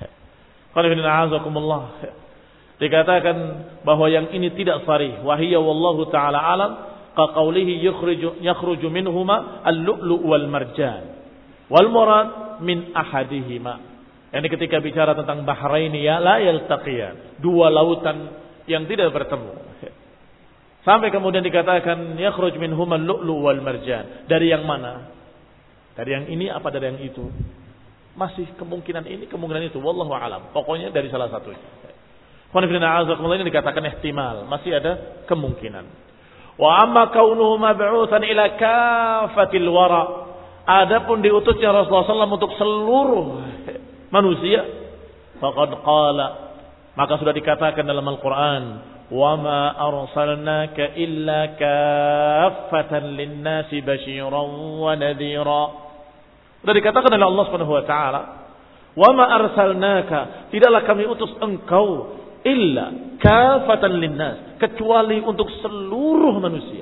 Dikatakan bahwa yang ini tidak sharih, wa hiya wallahu taala alam, ka qaulihi yakhruju yakhruju minhuma al-lu'lu' wal marjan wal murad min ahadihima. Ini ketika bicara tentang bahraini ya la yaltaqiyan, dua lautan yang tidak bertemu. Sampai kemudian dikatakan yakhruj minhuma al-lu'lu' wal marjan. Dari yang mana? Dari yang ini apa dari yang itu? Masih kemungkinan ini, kemungkinan itu, wallahu alam. Pokoknya dari salah satunya. Ini dikatakan ihtimal, masih ada kemungkinan. Wa amma kaunuhu mab'utsan ila kafatil wara. Adapun diutusnya Rasulullah sallallahu alaihi wasallam untuk seluruh manusia, faqad qala, maka sudah dikatakan dalam Al-Qur'an, wa ma arsalnaka illa kaffatan lin-nasi basyiran wa nadhira. Sudah dikatakan oleh Allah Subhanahu wa taala, wa ma arsalnaka, tidaklah kami utus engkau illa kaffatan lin-nas, kecuali untuk seluruh manusia.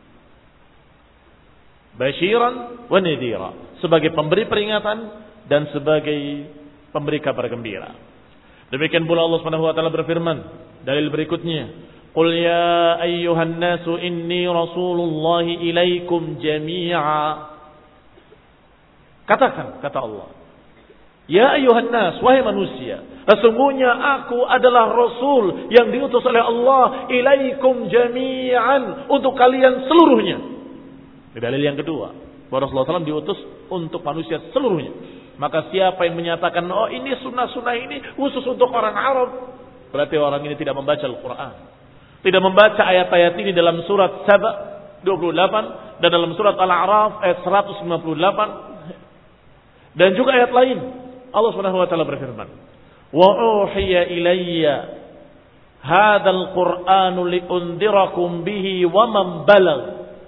Basyiran wa nadhira, sebagai pemberi peringatan dan sebagai pemberi kabar gembira. Demikian pula Allah Subhanahu wa taala berfirman dalil berikutnya, qul ya ayyuhan nasu inni rasulullahi ilaikum jami'a. Katakan, kata Allah, ya ayyuhan nas, wahai manusia, sesungguhnya aku adalah rasul yang diutus oleh Allah ilaikum jami'an, untuk kalian seluruhnya. Dalil yang kedua, bahwa Rasulullah shallallahu alaihi wasallam diutus untuk manusia seluruhnya. Maka siapa yang menyatakan, oh ini sunnah-sunnah ini khusus untuk orang Arab, berarti orang ini tidak membaca Al-Quran, tidak membaca ayat-ayat ini dalam surat Saba dua puluh delapan dan dalam surat Al-A'raf ayat seratus lima puluh delapan dan juga ayat lain. Allah Subhanahu wa taala berfirman, wa uhiya ilayya hadzal qur'anu liundirakum bihi wa man balagh.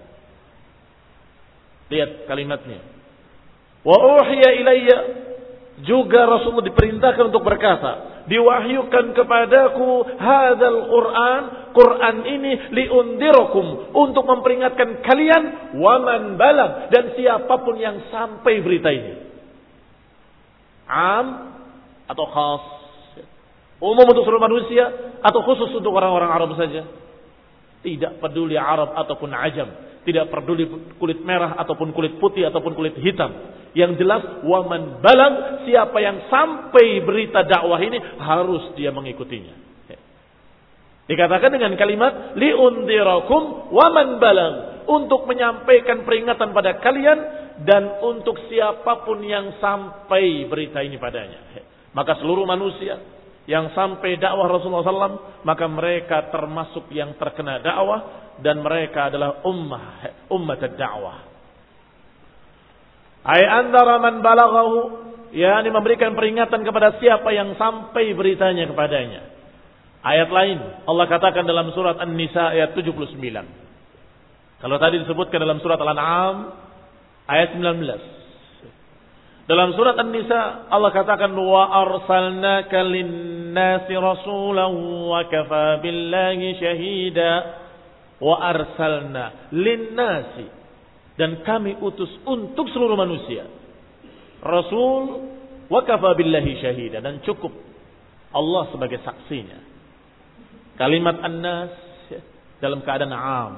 Lihat kalimatnya. Wa uhiya ilayya, juga Rasulullah diperintahkan untuk berkata, diwahyukan kepadaku hadzal Qur'an, Quran ini liundirakum, untuk memperingatkan kalian, wa man balagh, dan siapapun yang sampai berita ini. Am atau khas? Umum untuk seluruh manusia atau khusus untuk orang-orang Arab saja? Tidak peduli Arab ataupun Ajam, tidak peduli kulit merah ataupun kulit putih ataupun kulit hitam. Yang jelas, waman balang, siapa yang sampai berita dakwah ini harus dia mengikutinya. Dikatakan dengan kalimat liundirakum waman balang, untuk menyampaikan peringatan pada kalian dan untuk siapapun yang sampai berita ini padanya. Maka seluruh manusia yang sampai dakwah Rasulullah sallallahu alaihi wasallam, maka mereka termasuk yang terkena dakwah dan mereka adalah ummah ummat ad-da'wah. Ay andara man balaghahu, yakni memberikan peringatan kepada siapa yang sampai beritanya kepadanya. Ayat lain Allah katakan dalam surat An-Nisa ayat tujuh puluh sembilan. Kalau tadi disebutkan dalam surat Al-An'am ayat sembilan belas. Dalam surat An-Nisa Allah katakan wa arsalnaka lin-nasi rasulan wa kafa billahi syahida. Wa arsalna lin-nasi, dan kami utus untuk seluruh manusia rasul wa kafa billahi syahida, dan cukup Allah sebagai saksinya. Kalimat an-nas dalam keadaan am,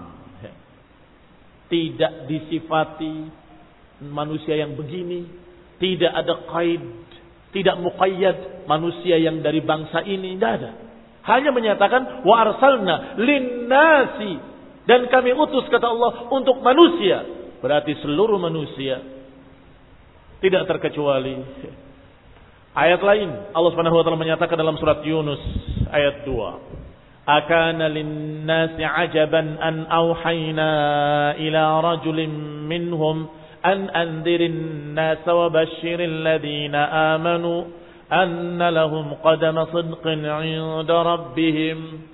tidak disifati manusia yang begini, tidak ada qaid, tidak muqayyad manusia yang dari bangsa ini, tidak ada. Hanya menyatakan wa arsalna lin-nasi, dan kami utus kata Allah untuk manusia, berarti seluruh manusia tidak terkecuali. Ayat lain Allah Subhanahu wa taala menyatakan dalam surat Yunus ayat dua. Akana lin-nasi ajaban an auhayna ila rajulin minhum an anzirin nasa wa basyiril ladina amanu anna lahum qadama sidqin 'inda rabbihim.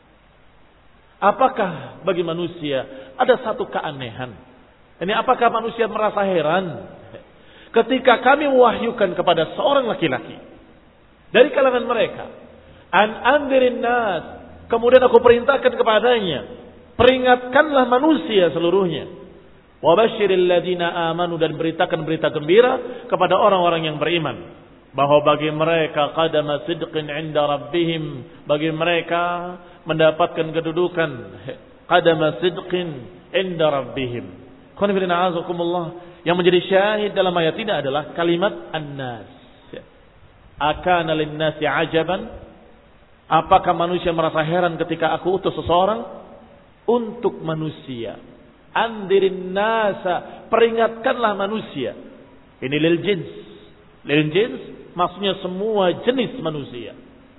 Apakah bagi manusia ada satu keanehan? Ini apakah manusia merasa heran ketika kami mewahyukan kepada seorang laki-laki dari kalangan mereka, an anzirin nas, kemudian aku perintahkan kepadanya, peringatkanlah manusia seluruhnya, wa basyiril ladina amanu, dan beritakan berita gembira kepada orang-orang yang beriman, bahwa bagi mereka qadama sidqin 'inda rabbihim, bagi mereka mendapatkan kedudukan qadama sidqin 'inda rabbihim. Qanifidina azakumullah, yang menjadi syahid dalam ayat ini adalah kalimat an-nas. Akana lin-nasi ajaban, apakah manusia merasa heran ketika aku utus seseorang untuk manusia? Andirin nasa, peringatkanlah manusia. Ini lil jins. Lil jins maksudnya semua jenis manusia.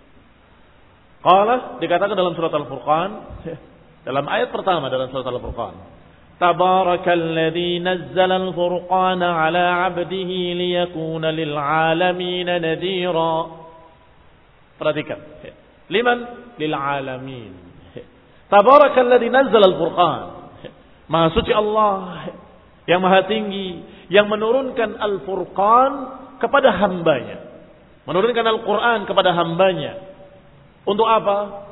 Qala, dikatakan dalam surat Al-Furqan, dalam ayat pertama dalam surat Al-Furqan, Tabarakalladzi nazzala al-furqana 'ala 'abdihi liyakuna lil 'alamin nadhira. Perhatikan. Liman? Lil 'alamin. Tabarakalladzi nazzala al-furqan. Maha suci Allah yang maha tinggi, yang menurunkan Al-Furqan kepada hambanya. Menurunkan Al-Quran kepada hambanya. Untuk apa?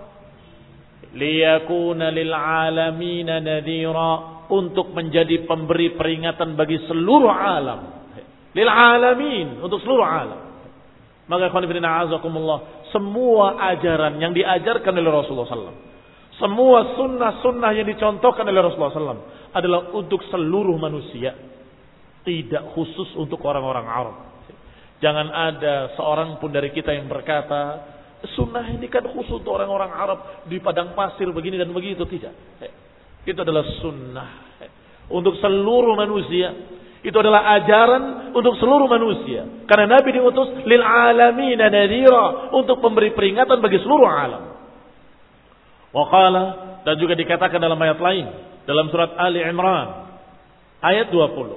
Liyakuna lil alamina nadhira, untuk menjadi pemberi peringatan bagi seluruh alam. Lil alamin, untuk seluruh alam. Maka khonifidina azakumullah, semua ajaran yang diajarkan oleh Rasulullah sallallahu alaihi wasallam, semua sunnah-sunnah yang dicontohkan oleh Rasulullah sallallahu alaihi wasallam adalah untuk seluruh manusia, tidak khusus untuk orang-orang Arab. Jangan ada seorang pun dari kita yang berkata, sunnah ini kan khusus untuk orang-orang Arab di padang pasir begini dan begitu. Tidak. Itu adalah sunnah untuk seluruh manusia. Itu adalah ajaran untuk seluruh manusia. Karena Nabi diutus lil alamin nadhira, untuk memberi peringatan bagi seluruh alam. Wa qala, dan juga dikatakan dalam ayat lain dalam surat Ali Imran ayat dua puluh.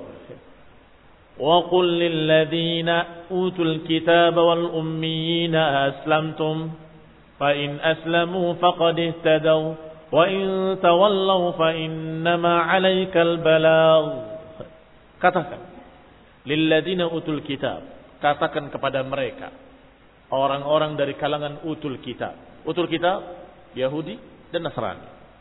Wa qul lil ladzina utul kitaba wal ummiyina aslamtum fa in aslamu faqad ihtadaw wa in tawallaw fa innama 'alaikal balagh. Katakan lil ladzina utul kitab, katakan kepada mereka orang-orang dari kalangan utul kitab. Utul kitab Yahudi dan Nasrani.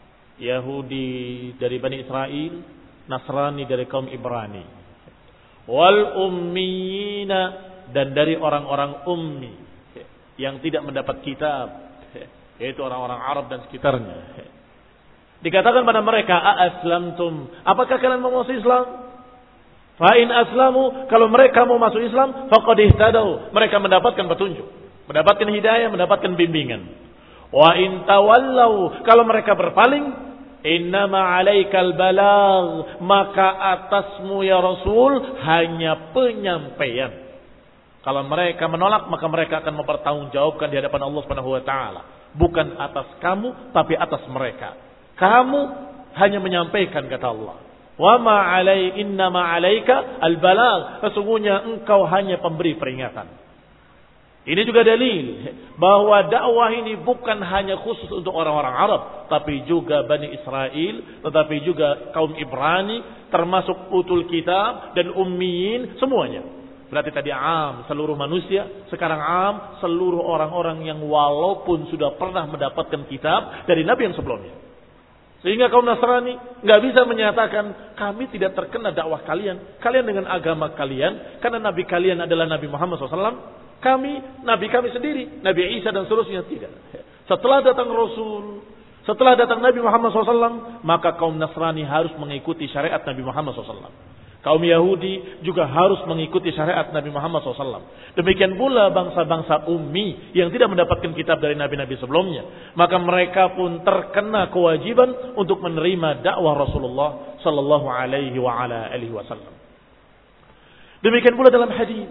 Yahudi dari Bani Israel, Nasrani dari kaum Ibrani. Wal ummiyina, dan dari orang-orang ummi yang tidak mendapat kitab, yaitu orang-orang Arab dan sekitarnya. Dikatakan pada mereka, a-aslamtum, apakah kalian mau masuk Islam? Fa in aslamu, kalau mereka mau masuk Islam, faqad ihtadaw, mereka mendapatkan petunjuk, mendapatkan hidayah, mendapatkan bimbingan. Wa in tawallaw, kalau mereka berpaling, innama 'alaikal balagh, maka atasmu ya Rasul hanya penyampaian. Kalau mereka menolak, maka mereka akan mempertanggungjawabkan di hadapan Allah Subhanahu wa taala. Bukan atas kamu, tapi atas mereka. Kamu hanya menyampaikan, kata Allah. Wa ma alai inna ma alaika al-balagh. Sesungguhnya engkau hanya pemberi peringatan. Ini juga dalil bahwa dakwah ini bukan hanya khusus untuk orang-orang Arab, tapi juga Bani Israel, tetapi juga kaum Ibrani, termasuk utul kitab dan ummiyin, semuanya. Berarti tadi am seluruh manusia, sekarang am seluruh orang-orang yang walaupun sudah pernah mendapatkan kitab dari Nabi yang sebelumnya. Sehingga kaum Nasrani nggak bisa menyatakan kami tidak terkena dakwah kalian, kalian dengan agama kalian, karena Nabi kalian adalah Nabi Muhammad shallallahu alaihi wasallam. Kami, Nabi kami sendiri, Nabi Isa dan seterusnya tidak. Setelah datang Rasul, setelah datang Nabi Muhammad shallallahu alaihi wasallam, maka kaum Nasrani harus mengikuti syariat Nabi Muhammad shallallahu alaihi wasallam. Kaum Yahudi juga harus mengikuti syariat Nabi Muhammad shallallahu alaihi wasallam. Demikian pula bangsa-bangsa ummi yang tidak mendapatkan kitab dari Nabi-Nabi sebelumnya. Maka mereka pun terkena kewajiban untuk menerima dakwah Rasulullah sallallahu alaihi wa ala alihi wasallam. Demikian pula dalam hadis.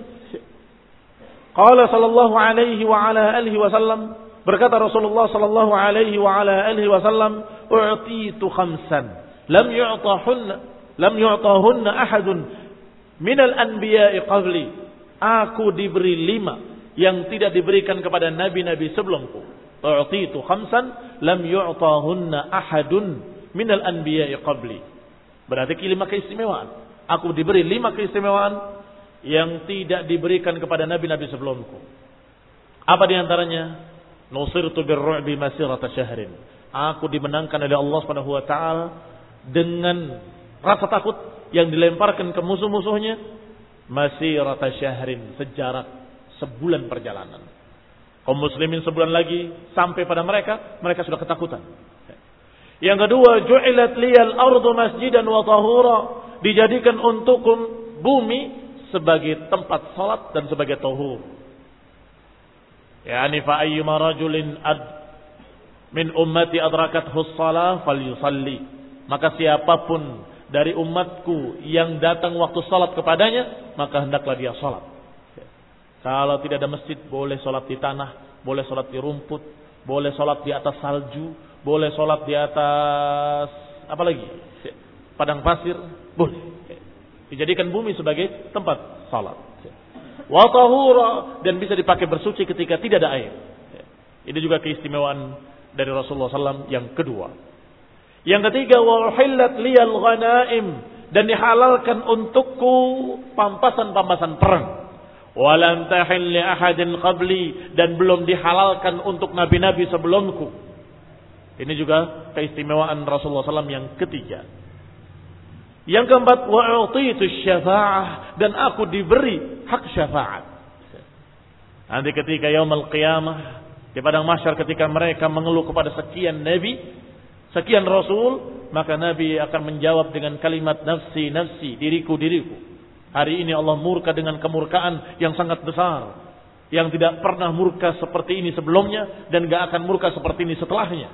Qala sallallahu alaihi wa ala alihi wasallam, berkata Rasulullah sallallahu alaihi wa ala alihi wasallam, "U'titu khamsan lam yu'tahunna lam yu'tahunna ahadun minal anbiya'i qabli." Aku diberi lima yang tidak diberikan kepada nabi-nabi sebelumku. U'titu khamsan lam yu'tahunna ahadun minal anbiya'i qabli. Berarti lima keistimewaan. Aku diberi lima keistimewaan yang tidak diberikan kepada nabi-nabi sebelumku. Apa di antaranya? Nusirtu birru'bi masirata syahrin. Aku dimenangkan oleh Allah Subhanahu wa taala dengan rasa takut yang dilemparkan ke musuh-musuhnya masirata syahrin, sejarak sebulan perjalanan. Kaum muslimin sebulan lagi sampai pada mereka, mereka sudah ketakutan. Yang kedua, ju'ilat liyal ardu masjidan wa tahura. Dijadikan untukku bumi sebagai tempat salat dan sebagai tahur. Yani fa ayyuma rajulin ad min ummati adrakathu shalah falyusalli. Maka siapapun dari umatku yang datang waktu salat kepadanya, maka hendaklah dia salat. Kalau tidak ada masjid, boleh salat di tanah, boleh salat di rumput, boleh salat di atas salju, boleh salat di atas apa lagi? Padang pasir, boleh. Dijadikan bumi sebagai tempat salat. Wa tahura, dan bisa dipakai bersuci ketika tidak ada air. Ini juga keistimewaan dari Rasulullah sallallahu alaihi wasallam yang kedua. Yang ketiga, wa uhillat liyal ghanaim, dan dihalalkan untukku pampasan-pampasan perang. Wa lam tahil li ahadin qabli, dan belum dihalalkan untuk nabi-nabi sebelumku. Ini juga keistimewaan Rasulullah sallallahu alaihi wasallam yang ketiga. Yang keempat, wa'utitu syafa'ah, dan aku diberi hak syafaat. Nanti ketika yaumul qiyamah, di padang mahsyar, ketika mereka mengeluh kepada sekian nabi, sekian rasul, maka nabi akan menjawab dengan kalimat nafsi nafsi, diriku diriku. Hari ini Allah murka dengan kemurkaan yang sangat besar, yang tidak pernah murka seperti ini sebelumnya dan gak akan murka seperti ini setelahnya.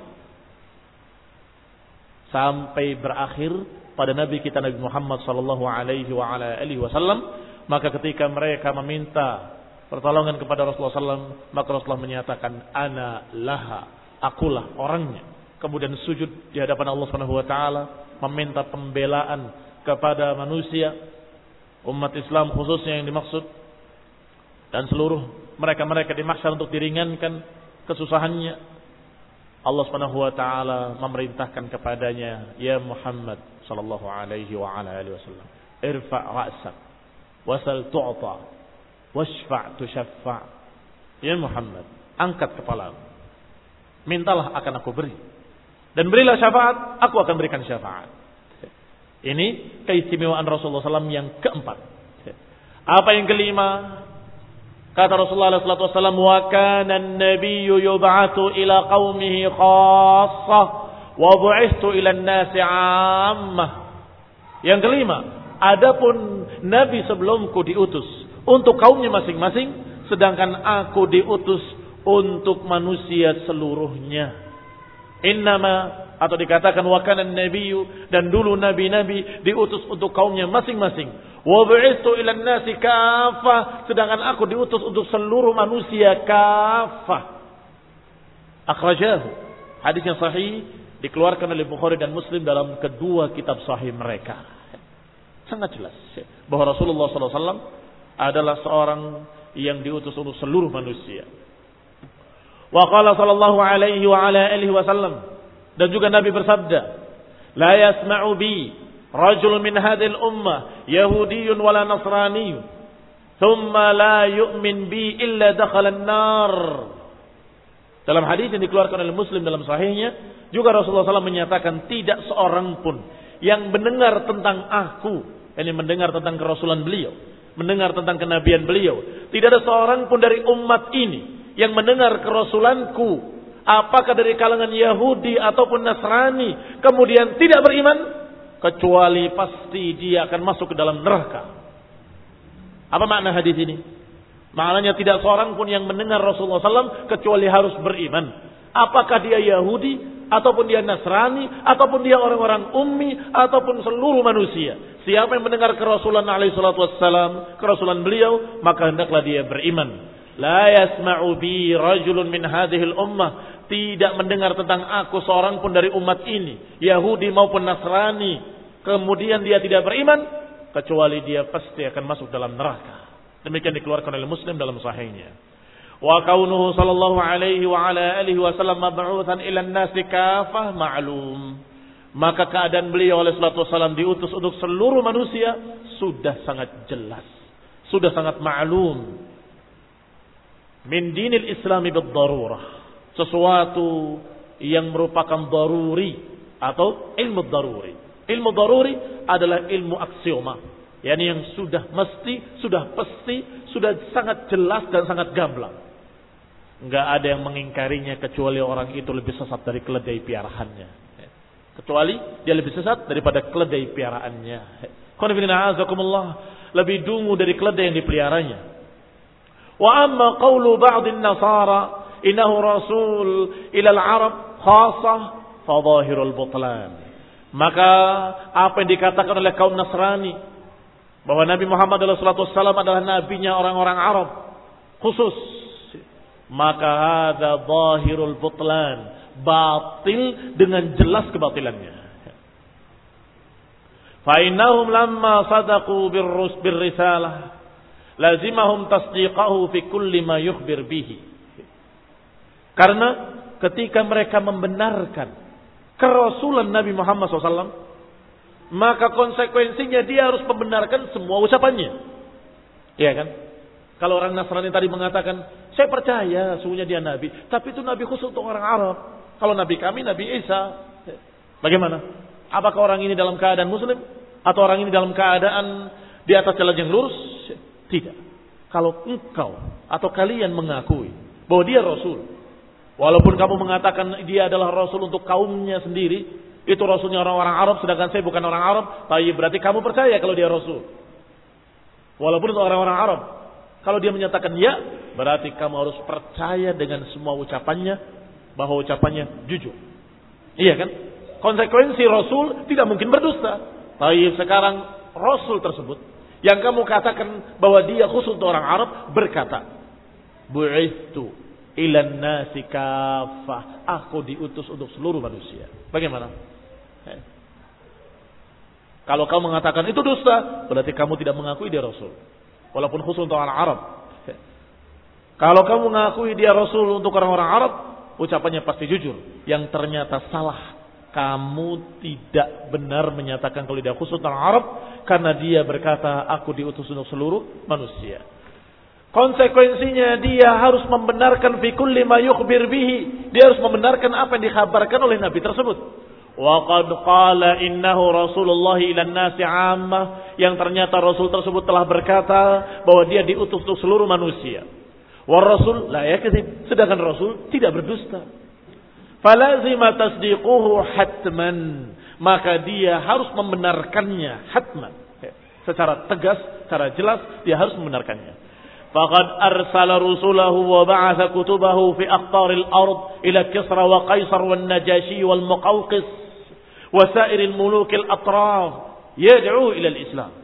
Sampai berakhir pada Nabi kita Nabi Muhammad sallallahu alaihi wa ala alihi wasallam, maka ketika mereka meminta pertolongan kepada Rasulullah sallallahu alaihi wasallam, maka Rasulullah menyatakan ana laha, akulah orangnya. Kemudian sujud di hadapan Allah Subhanahu wa taala, meminta pembelaan kepada manusia, umat Islam khususnya yang dimaksud, dan seluruh mereka-mereka di mahsyar untuk diringankan kesusahannya. Allah Subhanahu wa taala memerintahkan kepadanya, ya Muhammad sallallahu alaihi wa ala alihi wasallam, irfa' ra'sak wasal tu'ta washfa' tushaffa'. Ya Muhammad, angkat kepalamu, mintalah akan aku beri, dan berilah syafaat, aku akan berikan syafaat. Ini keistimewaan Rasulullah sallallahu alaihi wasallam yang keempat. Apa yang kelima? Kata Rasulullah sallallahu alaihi wasallam, wa kana an-nabiyyu yub'atsu ila qaumihi khassah wa bu'itsu ila an-nasi 'ammah. Yang kelima, adapun nabi sebelumku diutus untuk kaumnya masing-masing, sedangkan aku diutus untuk manusia seluruhnya. Innama, atau dikatakan wa kana an-nabiyyu, dan dulu nabi-nabi diutus untuk kaumnya masing-masing. Wa bu'itsu ilan nasi kaffah, sedangkan aku diutus untuk seluruh manusia kaffah. Akhrajahu. Hadis yang sahih dikeluarkan oleh Bukhari dan Muslim dalam kedua kitab sahih mereka. Sangat jelas bahwa Rasulullah sallallahu alaihi wasallam adalah seorang yang diutus untuk seluruh manusia. Wa qala sallallahu alaihi wa ala alihi wasallam, dan juga Nabi bersabda, la yasma'u bi rajul min hadhil ummah yahudiyyun wala nasraniyyun thumma la yu'min bi illa dakhala an-nar. Dalam hadis yang dikeluarkan oleh Muslim dalam sahihnya, juga Rasulullah sallallahu alaihi wasallam menyatakan tidak seorang pun yang mendengar tentang aku, ini mendengar tentang kerasulan beliau, mendengar tentang kenabian beliau, tidak ada seorang pun dari umat ini yang mendengar kerasulanku, apakah dari kalangan Yahudi ataupun Nasrani, kemudian tidak beriman, kecuali pasti dia akan masuk ke dalam neraka. Apa makna hadis ini? Maknanya tidak seorang pun yang mendengar Rasulullah sallallahu alaihi wasallam kecuali harus beriman. Apakah dia Yahudi, ataupun dia Nasrani, ataupun dia orang-orang ummi, ataupun seluruh manusia. Siapa yang mendengar kerasulan alaihi salatu wassalam, kerasulan beliau, maka hendaklah dia beriman. La yasma'u bi rajulun min hadhil ummah, tidak mendengar tentang aku seorang pun dari umat ini, Yahudi maupun Nasrani, kemudian dia tidak beriman, kecuali dia pasti akan masuk dalam neraka. Demikian dikeluarkan oleh Muslim dalam sahihnya. Wa kaunuhu sallallahu alaihi wa ala alihi wasallam mab'utsan ila an-nasi kafah ma'lum. Maka keadaan beliau alaihi salatu wasallam diutus untuk seluruh manusia sudah sangat jelas, sudah sangat ma'lum. Min dinil Islami bid-darurah, sesuatu yang merupakan daruri atau ilmu daruri. Ilmu daruri adalah ilmu aksioma, yakni yang sudah mesti, sudah pasti, sudah sangat jelas dan sangat gamblang. Enggak ada yang mengingkarinya kecuali orang itu lebih sesat dari keledai piaraannya. Kecuali dia lebih sesat daripada keledai piaraannya. Qanifina azakumullah, lebih dungu dari keledai yang dipeliharanya. Wa amma qawlu ba'dhin nasara innahu rasul ila al-arab khassah fa dhahirul butlan. Maka apa yang dikatakan oleh kaum Nasrani bahwa Nabi Muhammad sallallahu alaihi wasallam adalah nabinya orang-orang Arab khusus, maka hadza zahirul butlan, batil dengan jelas kebatilannya. Fa innahum lamma sadaqu birrus birrisalah lazimahum tasdiqahu fi kulli ma yukhbir bihi. Karena ketika mereka membenarkan kerasulan Nabi Muhammad shallallahu alaihi wasallam, maka konsekuensinya dia harus membenarkan semua ucapannya. Iya kan? Kalau orang Nasrani tadi mengatakan, saya percaya sungguhnya dia Nabi, tapi itu Nabi khusus untuk orang Arab. Kalau Nabi kami, Nabi Isa. Bagaimana? Apakah orang ini dalam keadaan Muslim? Atau orang ini dalam keadaan di atas jalan yang lurus? Tidak. Kalau engkau atau kalian mengakui bahwa dia Rasul, walaupun kamu mengatakan dia adalah Rasul untuk kaumnya sendiri, itu Rasulnya orang-orang Arab, sedangkan saya bukan orang Arab, tapi berarti kamu percaya kalau dia Rasul. Walaupun itu orang-orang Arab. Kalau dia menyatakan ya, berarti kamu harus percaya dengan semua ucapannya, bahwa ucapannya jujur. Iya kan? Konsekuensi Rasul tidak mungkin berdusta. Tapi sekarang Rasul tersebut, yang kamu katakan bahwa dia khusus untuk orang Arab, berkata, bu'itsu ilan nasi kafah, aku diutus untuk seluruh manusia. Bagaimana? Eh. Kalau kamu mengatakan itu dusta, berarti kamu tidak mengakui dia Rasul, walaupun khusus untuk orang Arab. Eh. Kalau kamu mengakui dia Rasul untuk orang-orang Arab, ucapannya pasti jujur. Yang ternyata salah, kamu tidak benar menyatakan kalau dia khusus untuk orang Arab, karena dia berkata aku diutus untuk seluruh manusia. Konsekuensinya dia harus membenarkan fi kulli ma yukhbir bihi. Dia harus membenarkan apa yang dikhabarkan oleh Nabi tersebut. Wa qad qala innahu Rasulullah ila an-nasi 'ammah, yang ternyata Rasul tersebut telah berkata bahwa dia diutus untuk seluruh manusia. Wa Rasul la yakdzib, sedangkan Rasul tidak berdusta. Falazima tasdiquhu hatman, maka dia harus membenarkannya hatman. Secara tegas, secara jelas dia harus membenarkannya. Faqad arsala rusulahu wa ba'atha kutubahu fi aqtaril ard ila Kisra wa Qaisar wan Najashi wal Muqawqis wa sa'iril mulukil atraf yad'u ila al-Islam.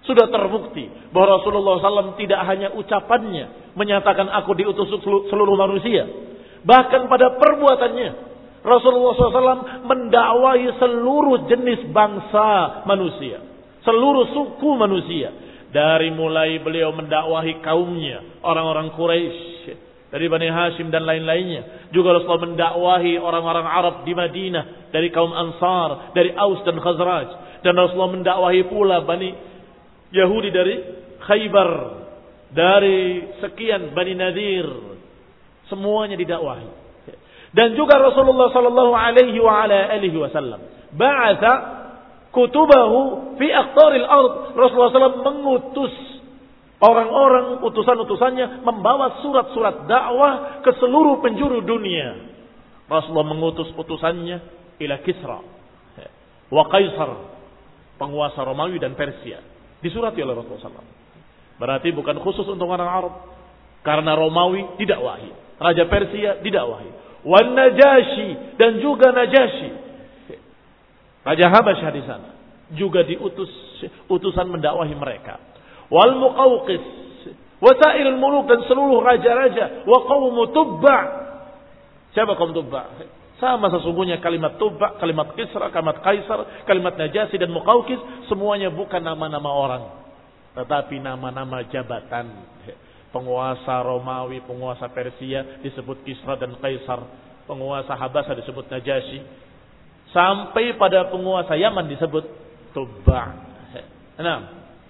Sudah terbukti bahwa Rasulullah shallallahu alaihi wasallam tidak hanya ucapannya menyatakan aku diutus seluruh manusia. Bahkan pada perbuatannya Rasulullah shallallahu alaihi wasallam mendakwahi seluruh jenis bangsa manusia. Seluruh suku manusia. Dari mulai beliau mendakwahi kaumnya, orang-orang Quraisy, dari Bani Hashim dan lain-lainnya. Juga Rasulullah mendakwahi orang-orang Arab di Madinah, dari kaum Ansar, dari Aus dan Khazraj. Dan Rasulullah mendakwahi pula Bani Yahudi dari Khaybar, dari sekian Bani Nadir. Semuanya didakwahi. Dan juga Rasulullah sallallahu alaihi wa ala alihi wasallam ba'atha kutubahu fi aqtaril ard. Rasulullah shallallahu alaihi wasallam mengutus orang-orang, utusan-utusannya membawa surat-surat dakwah ke seluruh penjuru dunia. Rasulullah mengutus utusannya ila Kisra wa Kaisar, penguasa Romawi dan Persia. Disurati oleh Rasulullah shallallahu alaihi wasallam. Berarti bukan khusus untuk orang Arab. Karena Romawi didakwahi, Raja Persia didakwahi, wan Najashi, dan juga Najashi, Raja Habasyah di sana juga diutus utusan mendakwahi mereka. Wal Muqawqis, wasailul muluk, dan seluruh raja-raja, wa qaum Tubba. Siapa kaum Tubba? Sama sesungguhnya kalimat Tubba, kalimat Kisra, kalimat Kaisar, kalimat Najasi dan Muqawqis, semuanya bukan nama-nama orang, tetapi nama-nama jabatan. Penguasa Romawi, penguasa Persia disebut Kisra dan Kaisar, penguasa Habasyah disebut Najasi, sampai pada penguasa Yaman disebut Tubba. Nah,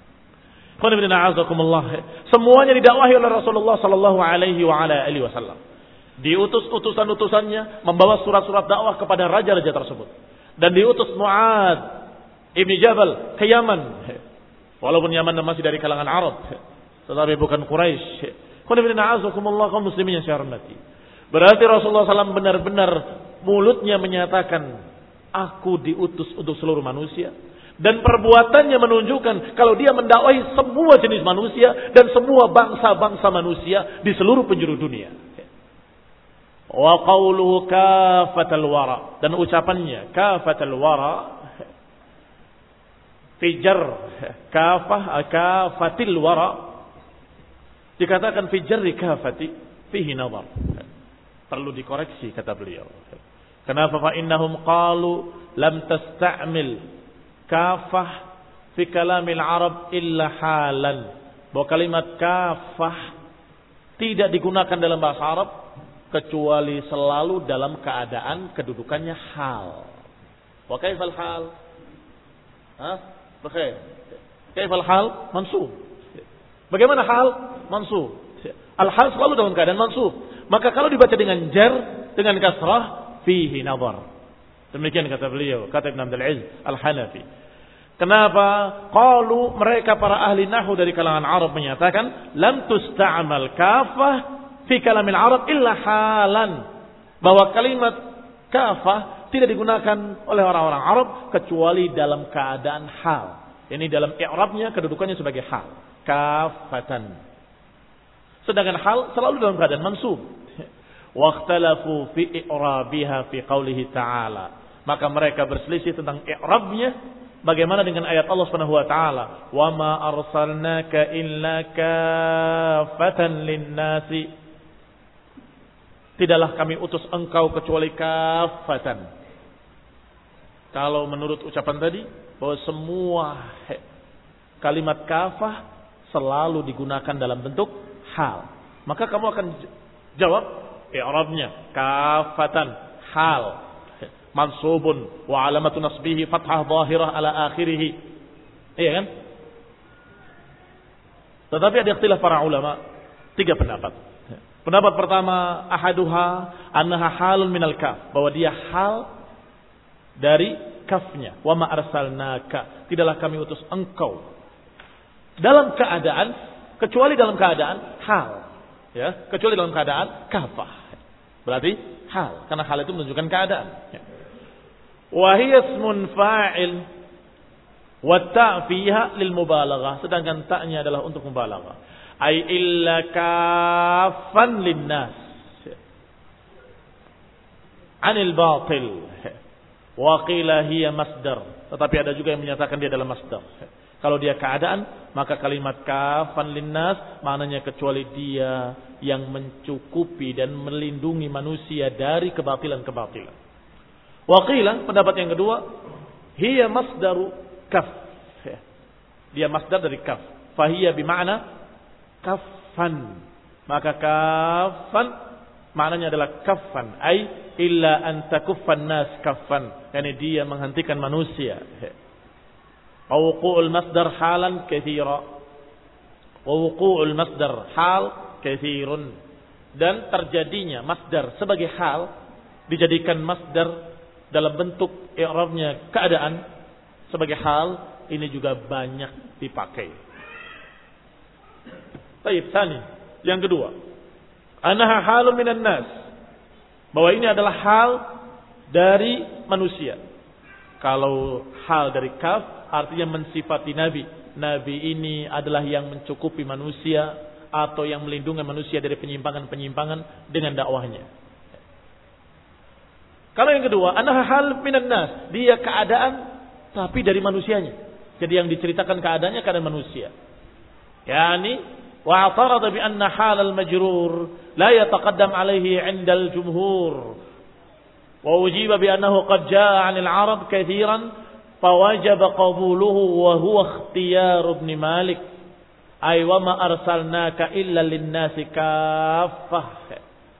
semuanya didakwahi oleh Rasulullah sallallahu alaihi wa ala alihi wasallam. Diutus utusan-utusannya membawa surat-surat dakwah kepada raja-raja tersebut. Dan diutus Mu'ad ibni Jabal ke Yaman. Walaupun Yaman masih dari kalangan Arab, tetapi bukan Quraisy. Kaum muslimin yang saya hormati. Berarti Rasulullah sallallahu alaihi wasallam benar-benar mulutnya menyatakan aku diutus untuk seluruh manusia. Dan perbuatannya menunjukkan kalau dia mendakwahi semua jenis manusia dan semua bangsa-bangsa manusia di seluruh penjuru dunia. Wa qawluhu kafatal wara, dan ucapannya kafatal wara fijar kafah kafatil wara, dikatakan fijar kafati fihi nazar. Perlu dikoreksi kata beliau. Kenapa? Fa innahum qalu lam tasta'mil kafah fi kalamil Arab illa halan. Bahwa kalimat kafah tidak digunakan dalam bahasa Arab kecuali selalu dalam keadaan kedudukannya hal. Wa kaifal hal? Hah? Baik. Kaifal hal? Mansub. Bagaimana hal? Mansub. Al-hal selalu dalam keadaan mansub. Maka kalau dibaca dengan jar, dengan kasrah, fihi nazar. Demikian kata beliau, kata Ibn Abdul Aziz Al-Hanafi. Kenapa? Qalu, mereka para ahli nahwu dari kalangan Arab menyatakan lam tusta'mal kafah fi kalamil Arab illa halan. Bahwa kalimat kafah tidak digunakan oleh orang-orang Arab kecuali dalam keadaan hal. Ini dalam i'rabnya kedudukannya sebagai hal. Kafatan. Sedangkan hal selalu dalam keadaan mansub. Waqtalafu fi i'rabiha fi qaulihi ta'ala. Maka mereka berselisih tentang i'rabnya bagaimana dengan ayat Allah Subhanahu wa taala, "Wa ma arsalnaka illa kaffatan lin-nasi." Tidaklah kami utus engkau kecuali kaffatan. Kalau menurut ucapan tadi bahwa semua kalimat kafah selalu digunakan dalam bentuk hal, maka kamu akan jawab i'rabnya kafatan hal mansubun wa alamatu nasbihi fathah zahirah ala akhirih. Iya kan? Tetapi ada ikhtilaf para ulama, tiga pendapat. Pendapat pertama, ahaduha annaha halun minal kaf, bahwa dia hal dari kafnya. Wa ma arsalnaka, tidaklah kami utus engkau dalam keadaan, kecuali dalam keadaan hal, ya, kecuali dalam keadaan kafah. Berarti hal, karena hal itu menunjukkan keadaan. Wa hiya ismun fa'il wa ta' fiha lil mubalaghah, sedangkan ta'nya adalah untuk mubalaghah. Ai illa kafan linnas anil batil. Wa qila hiya masdar, tetapi ada juga yang menyatakan dia adalah masdar. Kalau dia keadaan, Maka kalimat kafan linnas maknanya kecuali dia yang mencukupi dan melindungi manusia dari kebatilan-kebatilan. Waqilah, pendapat yang kedua, hiya masdaru kaf. Dia masdar dari kaf. Fahiya bimakna kafan. Maka kafan maknanya adalah kafan. Ay illa an takuffan nas kafan. Yani dia menghentikan manusia. Wuqu'ul masdar halan katsira. Wa wuqu'ul masdar hal katsirun. Dan terjadinya masdar sebagai hal dijadikan masdar dalam bentuk i'rabnya keadaan sebagai hal, ini juga banyak dipakai. Baik, tsani, yang kedua, anaha halun minan nas, bahwa ini adalah hal dari manusia. Kalau hal dari kaf artinya mensifati nabi. Nabi ini adalah yang mencukupi manusia atau yang melindungi manusia dari penyimpangan-penyimpangan dengan dakwahnya. Kalau yang kedua, anaha hal minan nas, dia keadaan tapi dari manusianya. Jadi yang diceritakan keadaannya keadaan manusia. Yani wa'tarada bi anna hal al-majrur la yataqaddam alaihi 'inda al-jumhur. Wa ujiba bi annahu qad jaa'a 'anil 'arab katsiran fawajaba qabuluhu wa huwa ikhtiyar ibn Malik. Ay wa ma arsalnaka illa lin-nasi kaffah.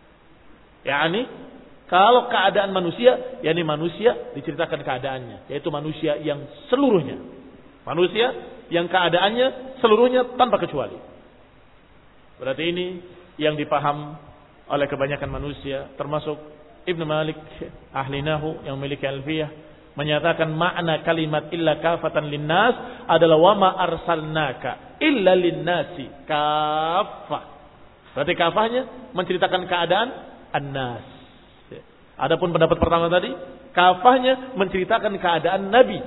Yani kalau keadaan manusia, yakni manusia diceritakan keadaannya, yaitu manusia yang seluruhnya. Manusia yang keadaannya seluruhnya tanpa kecuali. Berarti ini yang dipaham oleh kebanyakan manusia, termasuk Ibnu Malik, ahli nahu yang memiliki alfiyah, menyatakan makna kalimat illa kafatan linnas adalah wa ma arsalnaka illa linnasi kafah. Berarti kafahnya menceritakan keadaan annas. Adapun pendapat pertama tadi, kafahnya menceritakan keadaan Nabi.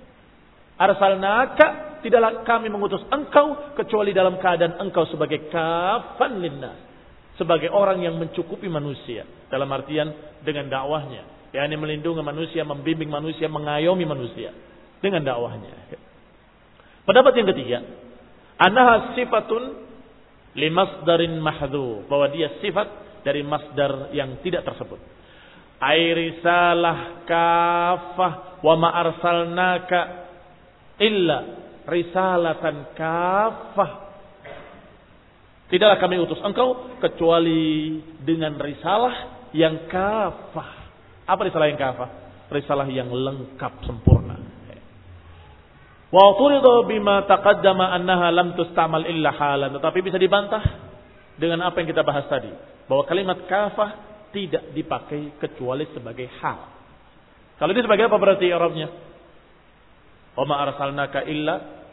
Arsalnaka, tidaklah kami mengutus engkau kecuali dalam keadaan engkau sebagai kafan linnas, sebagai orang yang mencukupi manusia, dalam artian dengan dakwahnya, yakni melindungi manusia, membimbing manusia, mengayomi manusia dengan dakwahnya. Pendapat yang ketiga, annaha sifatun limasdarin mahdhuf, bahwa dia sifat dari masdar yang tidak tersebut. Ai risalah kafah wa ma arsalnaka illa risalatan kafah. Tidaklah kami utus engkau kecuali dengan risalah yang kafah. Apa risalah yang kafah? Risalah yang lengkap sempurna. Wa turida bima taqaddama annaha lam tustamal illa halan. Tetapi bisa dibantah dengan apa yang kita bahas tadi, bahwa kalimat kafah tidak dipakai kecuali sebagai hal. Kalau ini sebagai apa berarti i'rabnya? Wa ma arsalnaka illa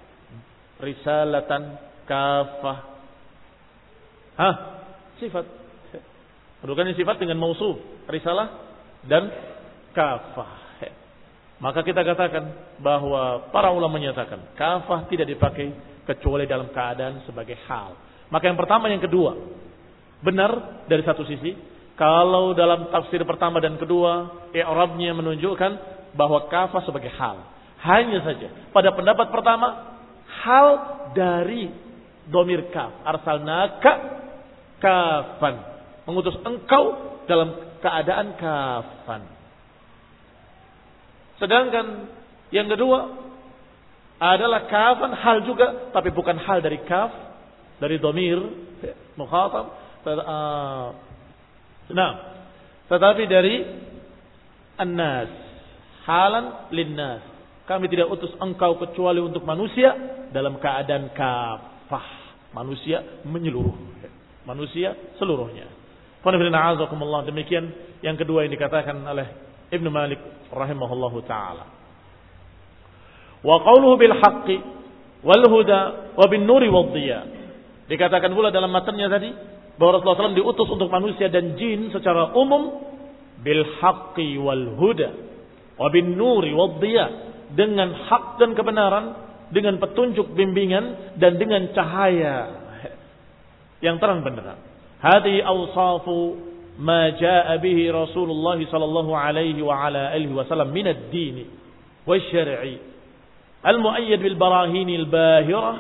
risalatan kafah. Hah? Sifat. Kedudukannya sifat dengan mausuf, risalah dan kafah. Maka kita katakan bahwa para ulama menyatakan kafah tidak dipakai kecuali dalam keadaan sebagai hal. Maka yang pertama, yang kedua benar dari satu sisi. Kalau dalam tafsir pertama dan kedua, i'rabnya menunjukkan bahwa kafah sebagai hal. Hanya saja pada pendapat pertama, hal dari domir kaf, arsalnaka kafan, mengutus engkau dalam keadaan kafan. Sedangkan yang kedua adalah kafan hal juga, tapi bukan hal dari kaf, dari domir mukhatab, nah, tetapi dari annas, halan linnas. Kami tidak utus engkau kecuali untuk manusia dalam keadaan kafah, manusia menyeluruh, manusia seluruhnya. Demikian yang kedua yang dikatakan oleh Ibnu Malik rahimahullahu taala. Wa qawluhu bil haqqi wal huda wa bin nuri wad dhiya. Dikatakan pula dalam matanya tadi bahwa Rasulullah shallallahu alaihi wasallam diutus untuk manusia dan jin secara umum bil haqqi wal huda wa bin nuri wad dhiya, dengan hak dan kebenaran, dengan petunjuk bimbingan dan dengan cahaya yang terang benderang. Hadhihi awsafu ma jaa bihi Rasulullah sallallahu alaihi wa ala alihi wasallam min ad-din wasyar'i al-mu'ayyad bil barahin al-bahirah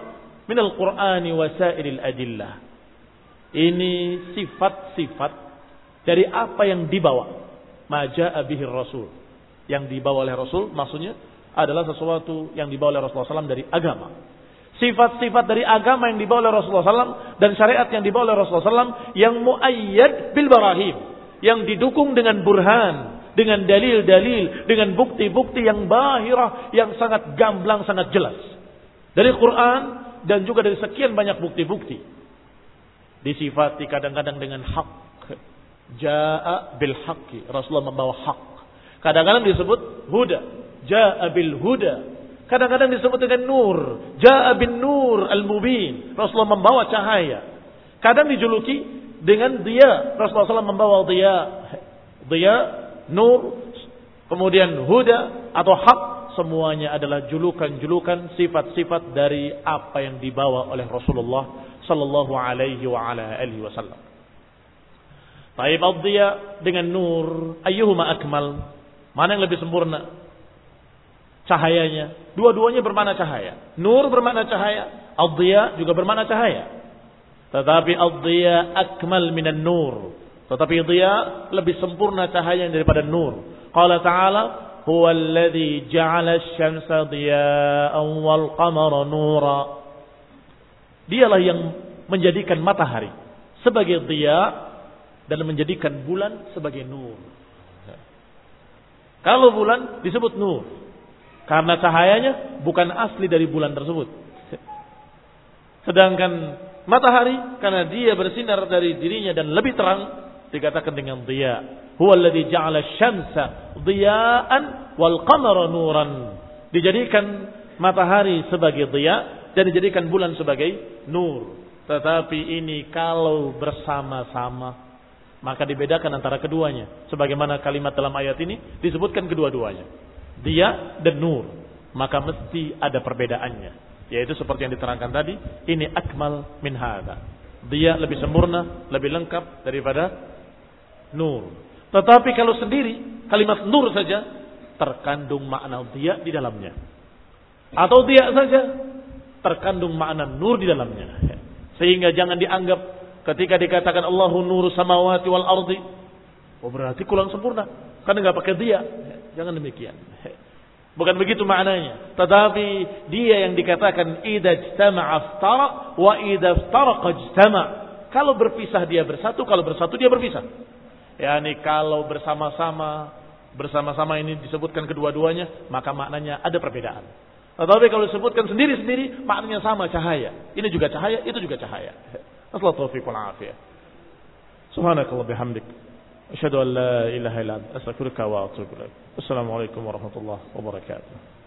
minal Qur'ani wa sairil adillah. Ini sifat-sifat dari apa yang dibawa. Ma jaa bihi Rasul. Yang dibawa oleh Rasul maksudnya adalah sesuatu yang dibawa oleh Rasulullah shallallahu alaihi wasallam dari agama. Sifat-sifat dari agama yang dibawa oleh Rasulullah shallallahu alaihi wasallam dan syariat yang dibawa oleh Rasulullah shallallahu alaihi wasallam yang muayyad bil barahim, yang didukung dengan burhan, dengan dalil-dalil, dengan bukti-bukti yang bahirah, yang sangat gamblang, sangat jelas dari Quran dan juga dari sekian banyak bukti-bukti. Disifati kadang-kadang dengan hak, jaa bil haqqi, Rasulullah membawa hak. Kadang-kadang disebut huda, jaa bil huda. Kadang-kadang disebut dengan nur, jaa bin nur al-mubin, Rasulullah membawa cahaya. Kadang dijuluki dengan dia, Rasulullah shallallahu alaihi wasallam membawa dia, dia, nur, kemudian huda atau hak, semuanya adalah julukan-julukan sifat-sifat dari apa yang dibawa oleh Rasulullah sallallahu alaihi wa ala alihi wasallam. Taib ad-diya dengan nur, ayyuhuma akmal? Mana yang lebih sempurna cahayanya? Dua-duanya bermakna cahaya. Nur bermakna cahaya, ad-diya juga bermakna cahaya. Tetapi ad-diya akmal minan nur. Tetapi diya lebih sempurna cahaya daripada nur. Qala ta'ala, huwa alladhi ja'ala asy-syamsa diya'an wal qamara nura. Dialah yang menjadikan matahari sebagai diya dan menjadikan bulan sebagai nur. Kalau bulan disebut nur karena cahayanya bukan asli dari bulan tersebut. Sedangkan matahari karena dia bersinar dari dirinya dan lebih terang dikatakan dengan diya. Huwa alladhi ja'ala asy-syamsa diya'an wal qamara nuran. Dijadikan matahari sebagai diya dan dijadikan bulan sebagai nur. Tetapi ini kalau bersama-sama maka dibedakan antara keduanya. Sebagaimana kalimat dalam ayat ini disebutkan kedua-duanya, diya dan nur, maka mesti ada perbedaannya. Yaitu seperti yang diterangkan tadi, ini akmal min hadza. Diya lebih sempurna, lebih lengkap daripada nur. Tetapi kalau sendiri kalimat nur saja terkandung makna diya di dalamnya. Atau diya saja terkandung makna nur di dalamnya. Sehingga jangan dianggap ketika dikatakan Allahu nuru samawati wal ardi, oh berarti kurang sempurna karena enggak pakai diya. Jangan demikian. Bukan begitu maknanya. Tetapi dia yang dikatakan idza ijtama'a iftara wa idza iftaraqa ijtama'. Kalau berpisah dia bersatu, kalau bersatu dia berpisah. Yani kalau bersama-sama, bersama-sama ini disebutkan kedua-duanya, maka maknanya ada perbedaan. Tetapi kalau disebutkan sendiri-sendiri, maknanya sama, cahaya. Ini juga cahaya, itu juga cahaya. Assalamualaikum warahmatullahi wabarakatuh. Subhanakallah bihamdik. Asyhadu an la ilaha illa anta astaghfiruka wa atubu ilaik. Assalamualaikum warahmatullahi wabarakatuh.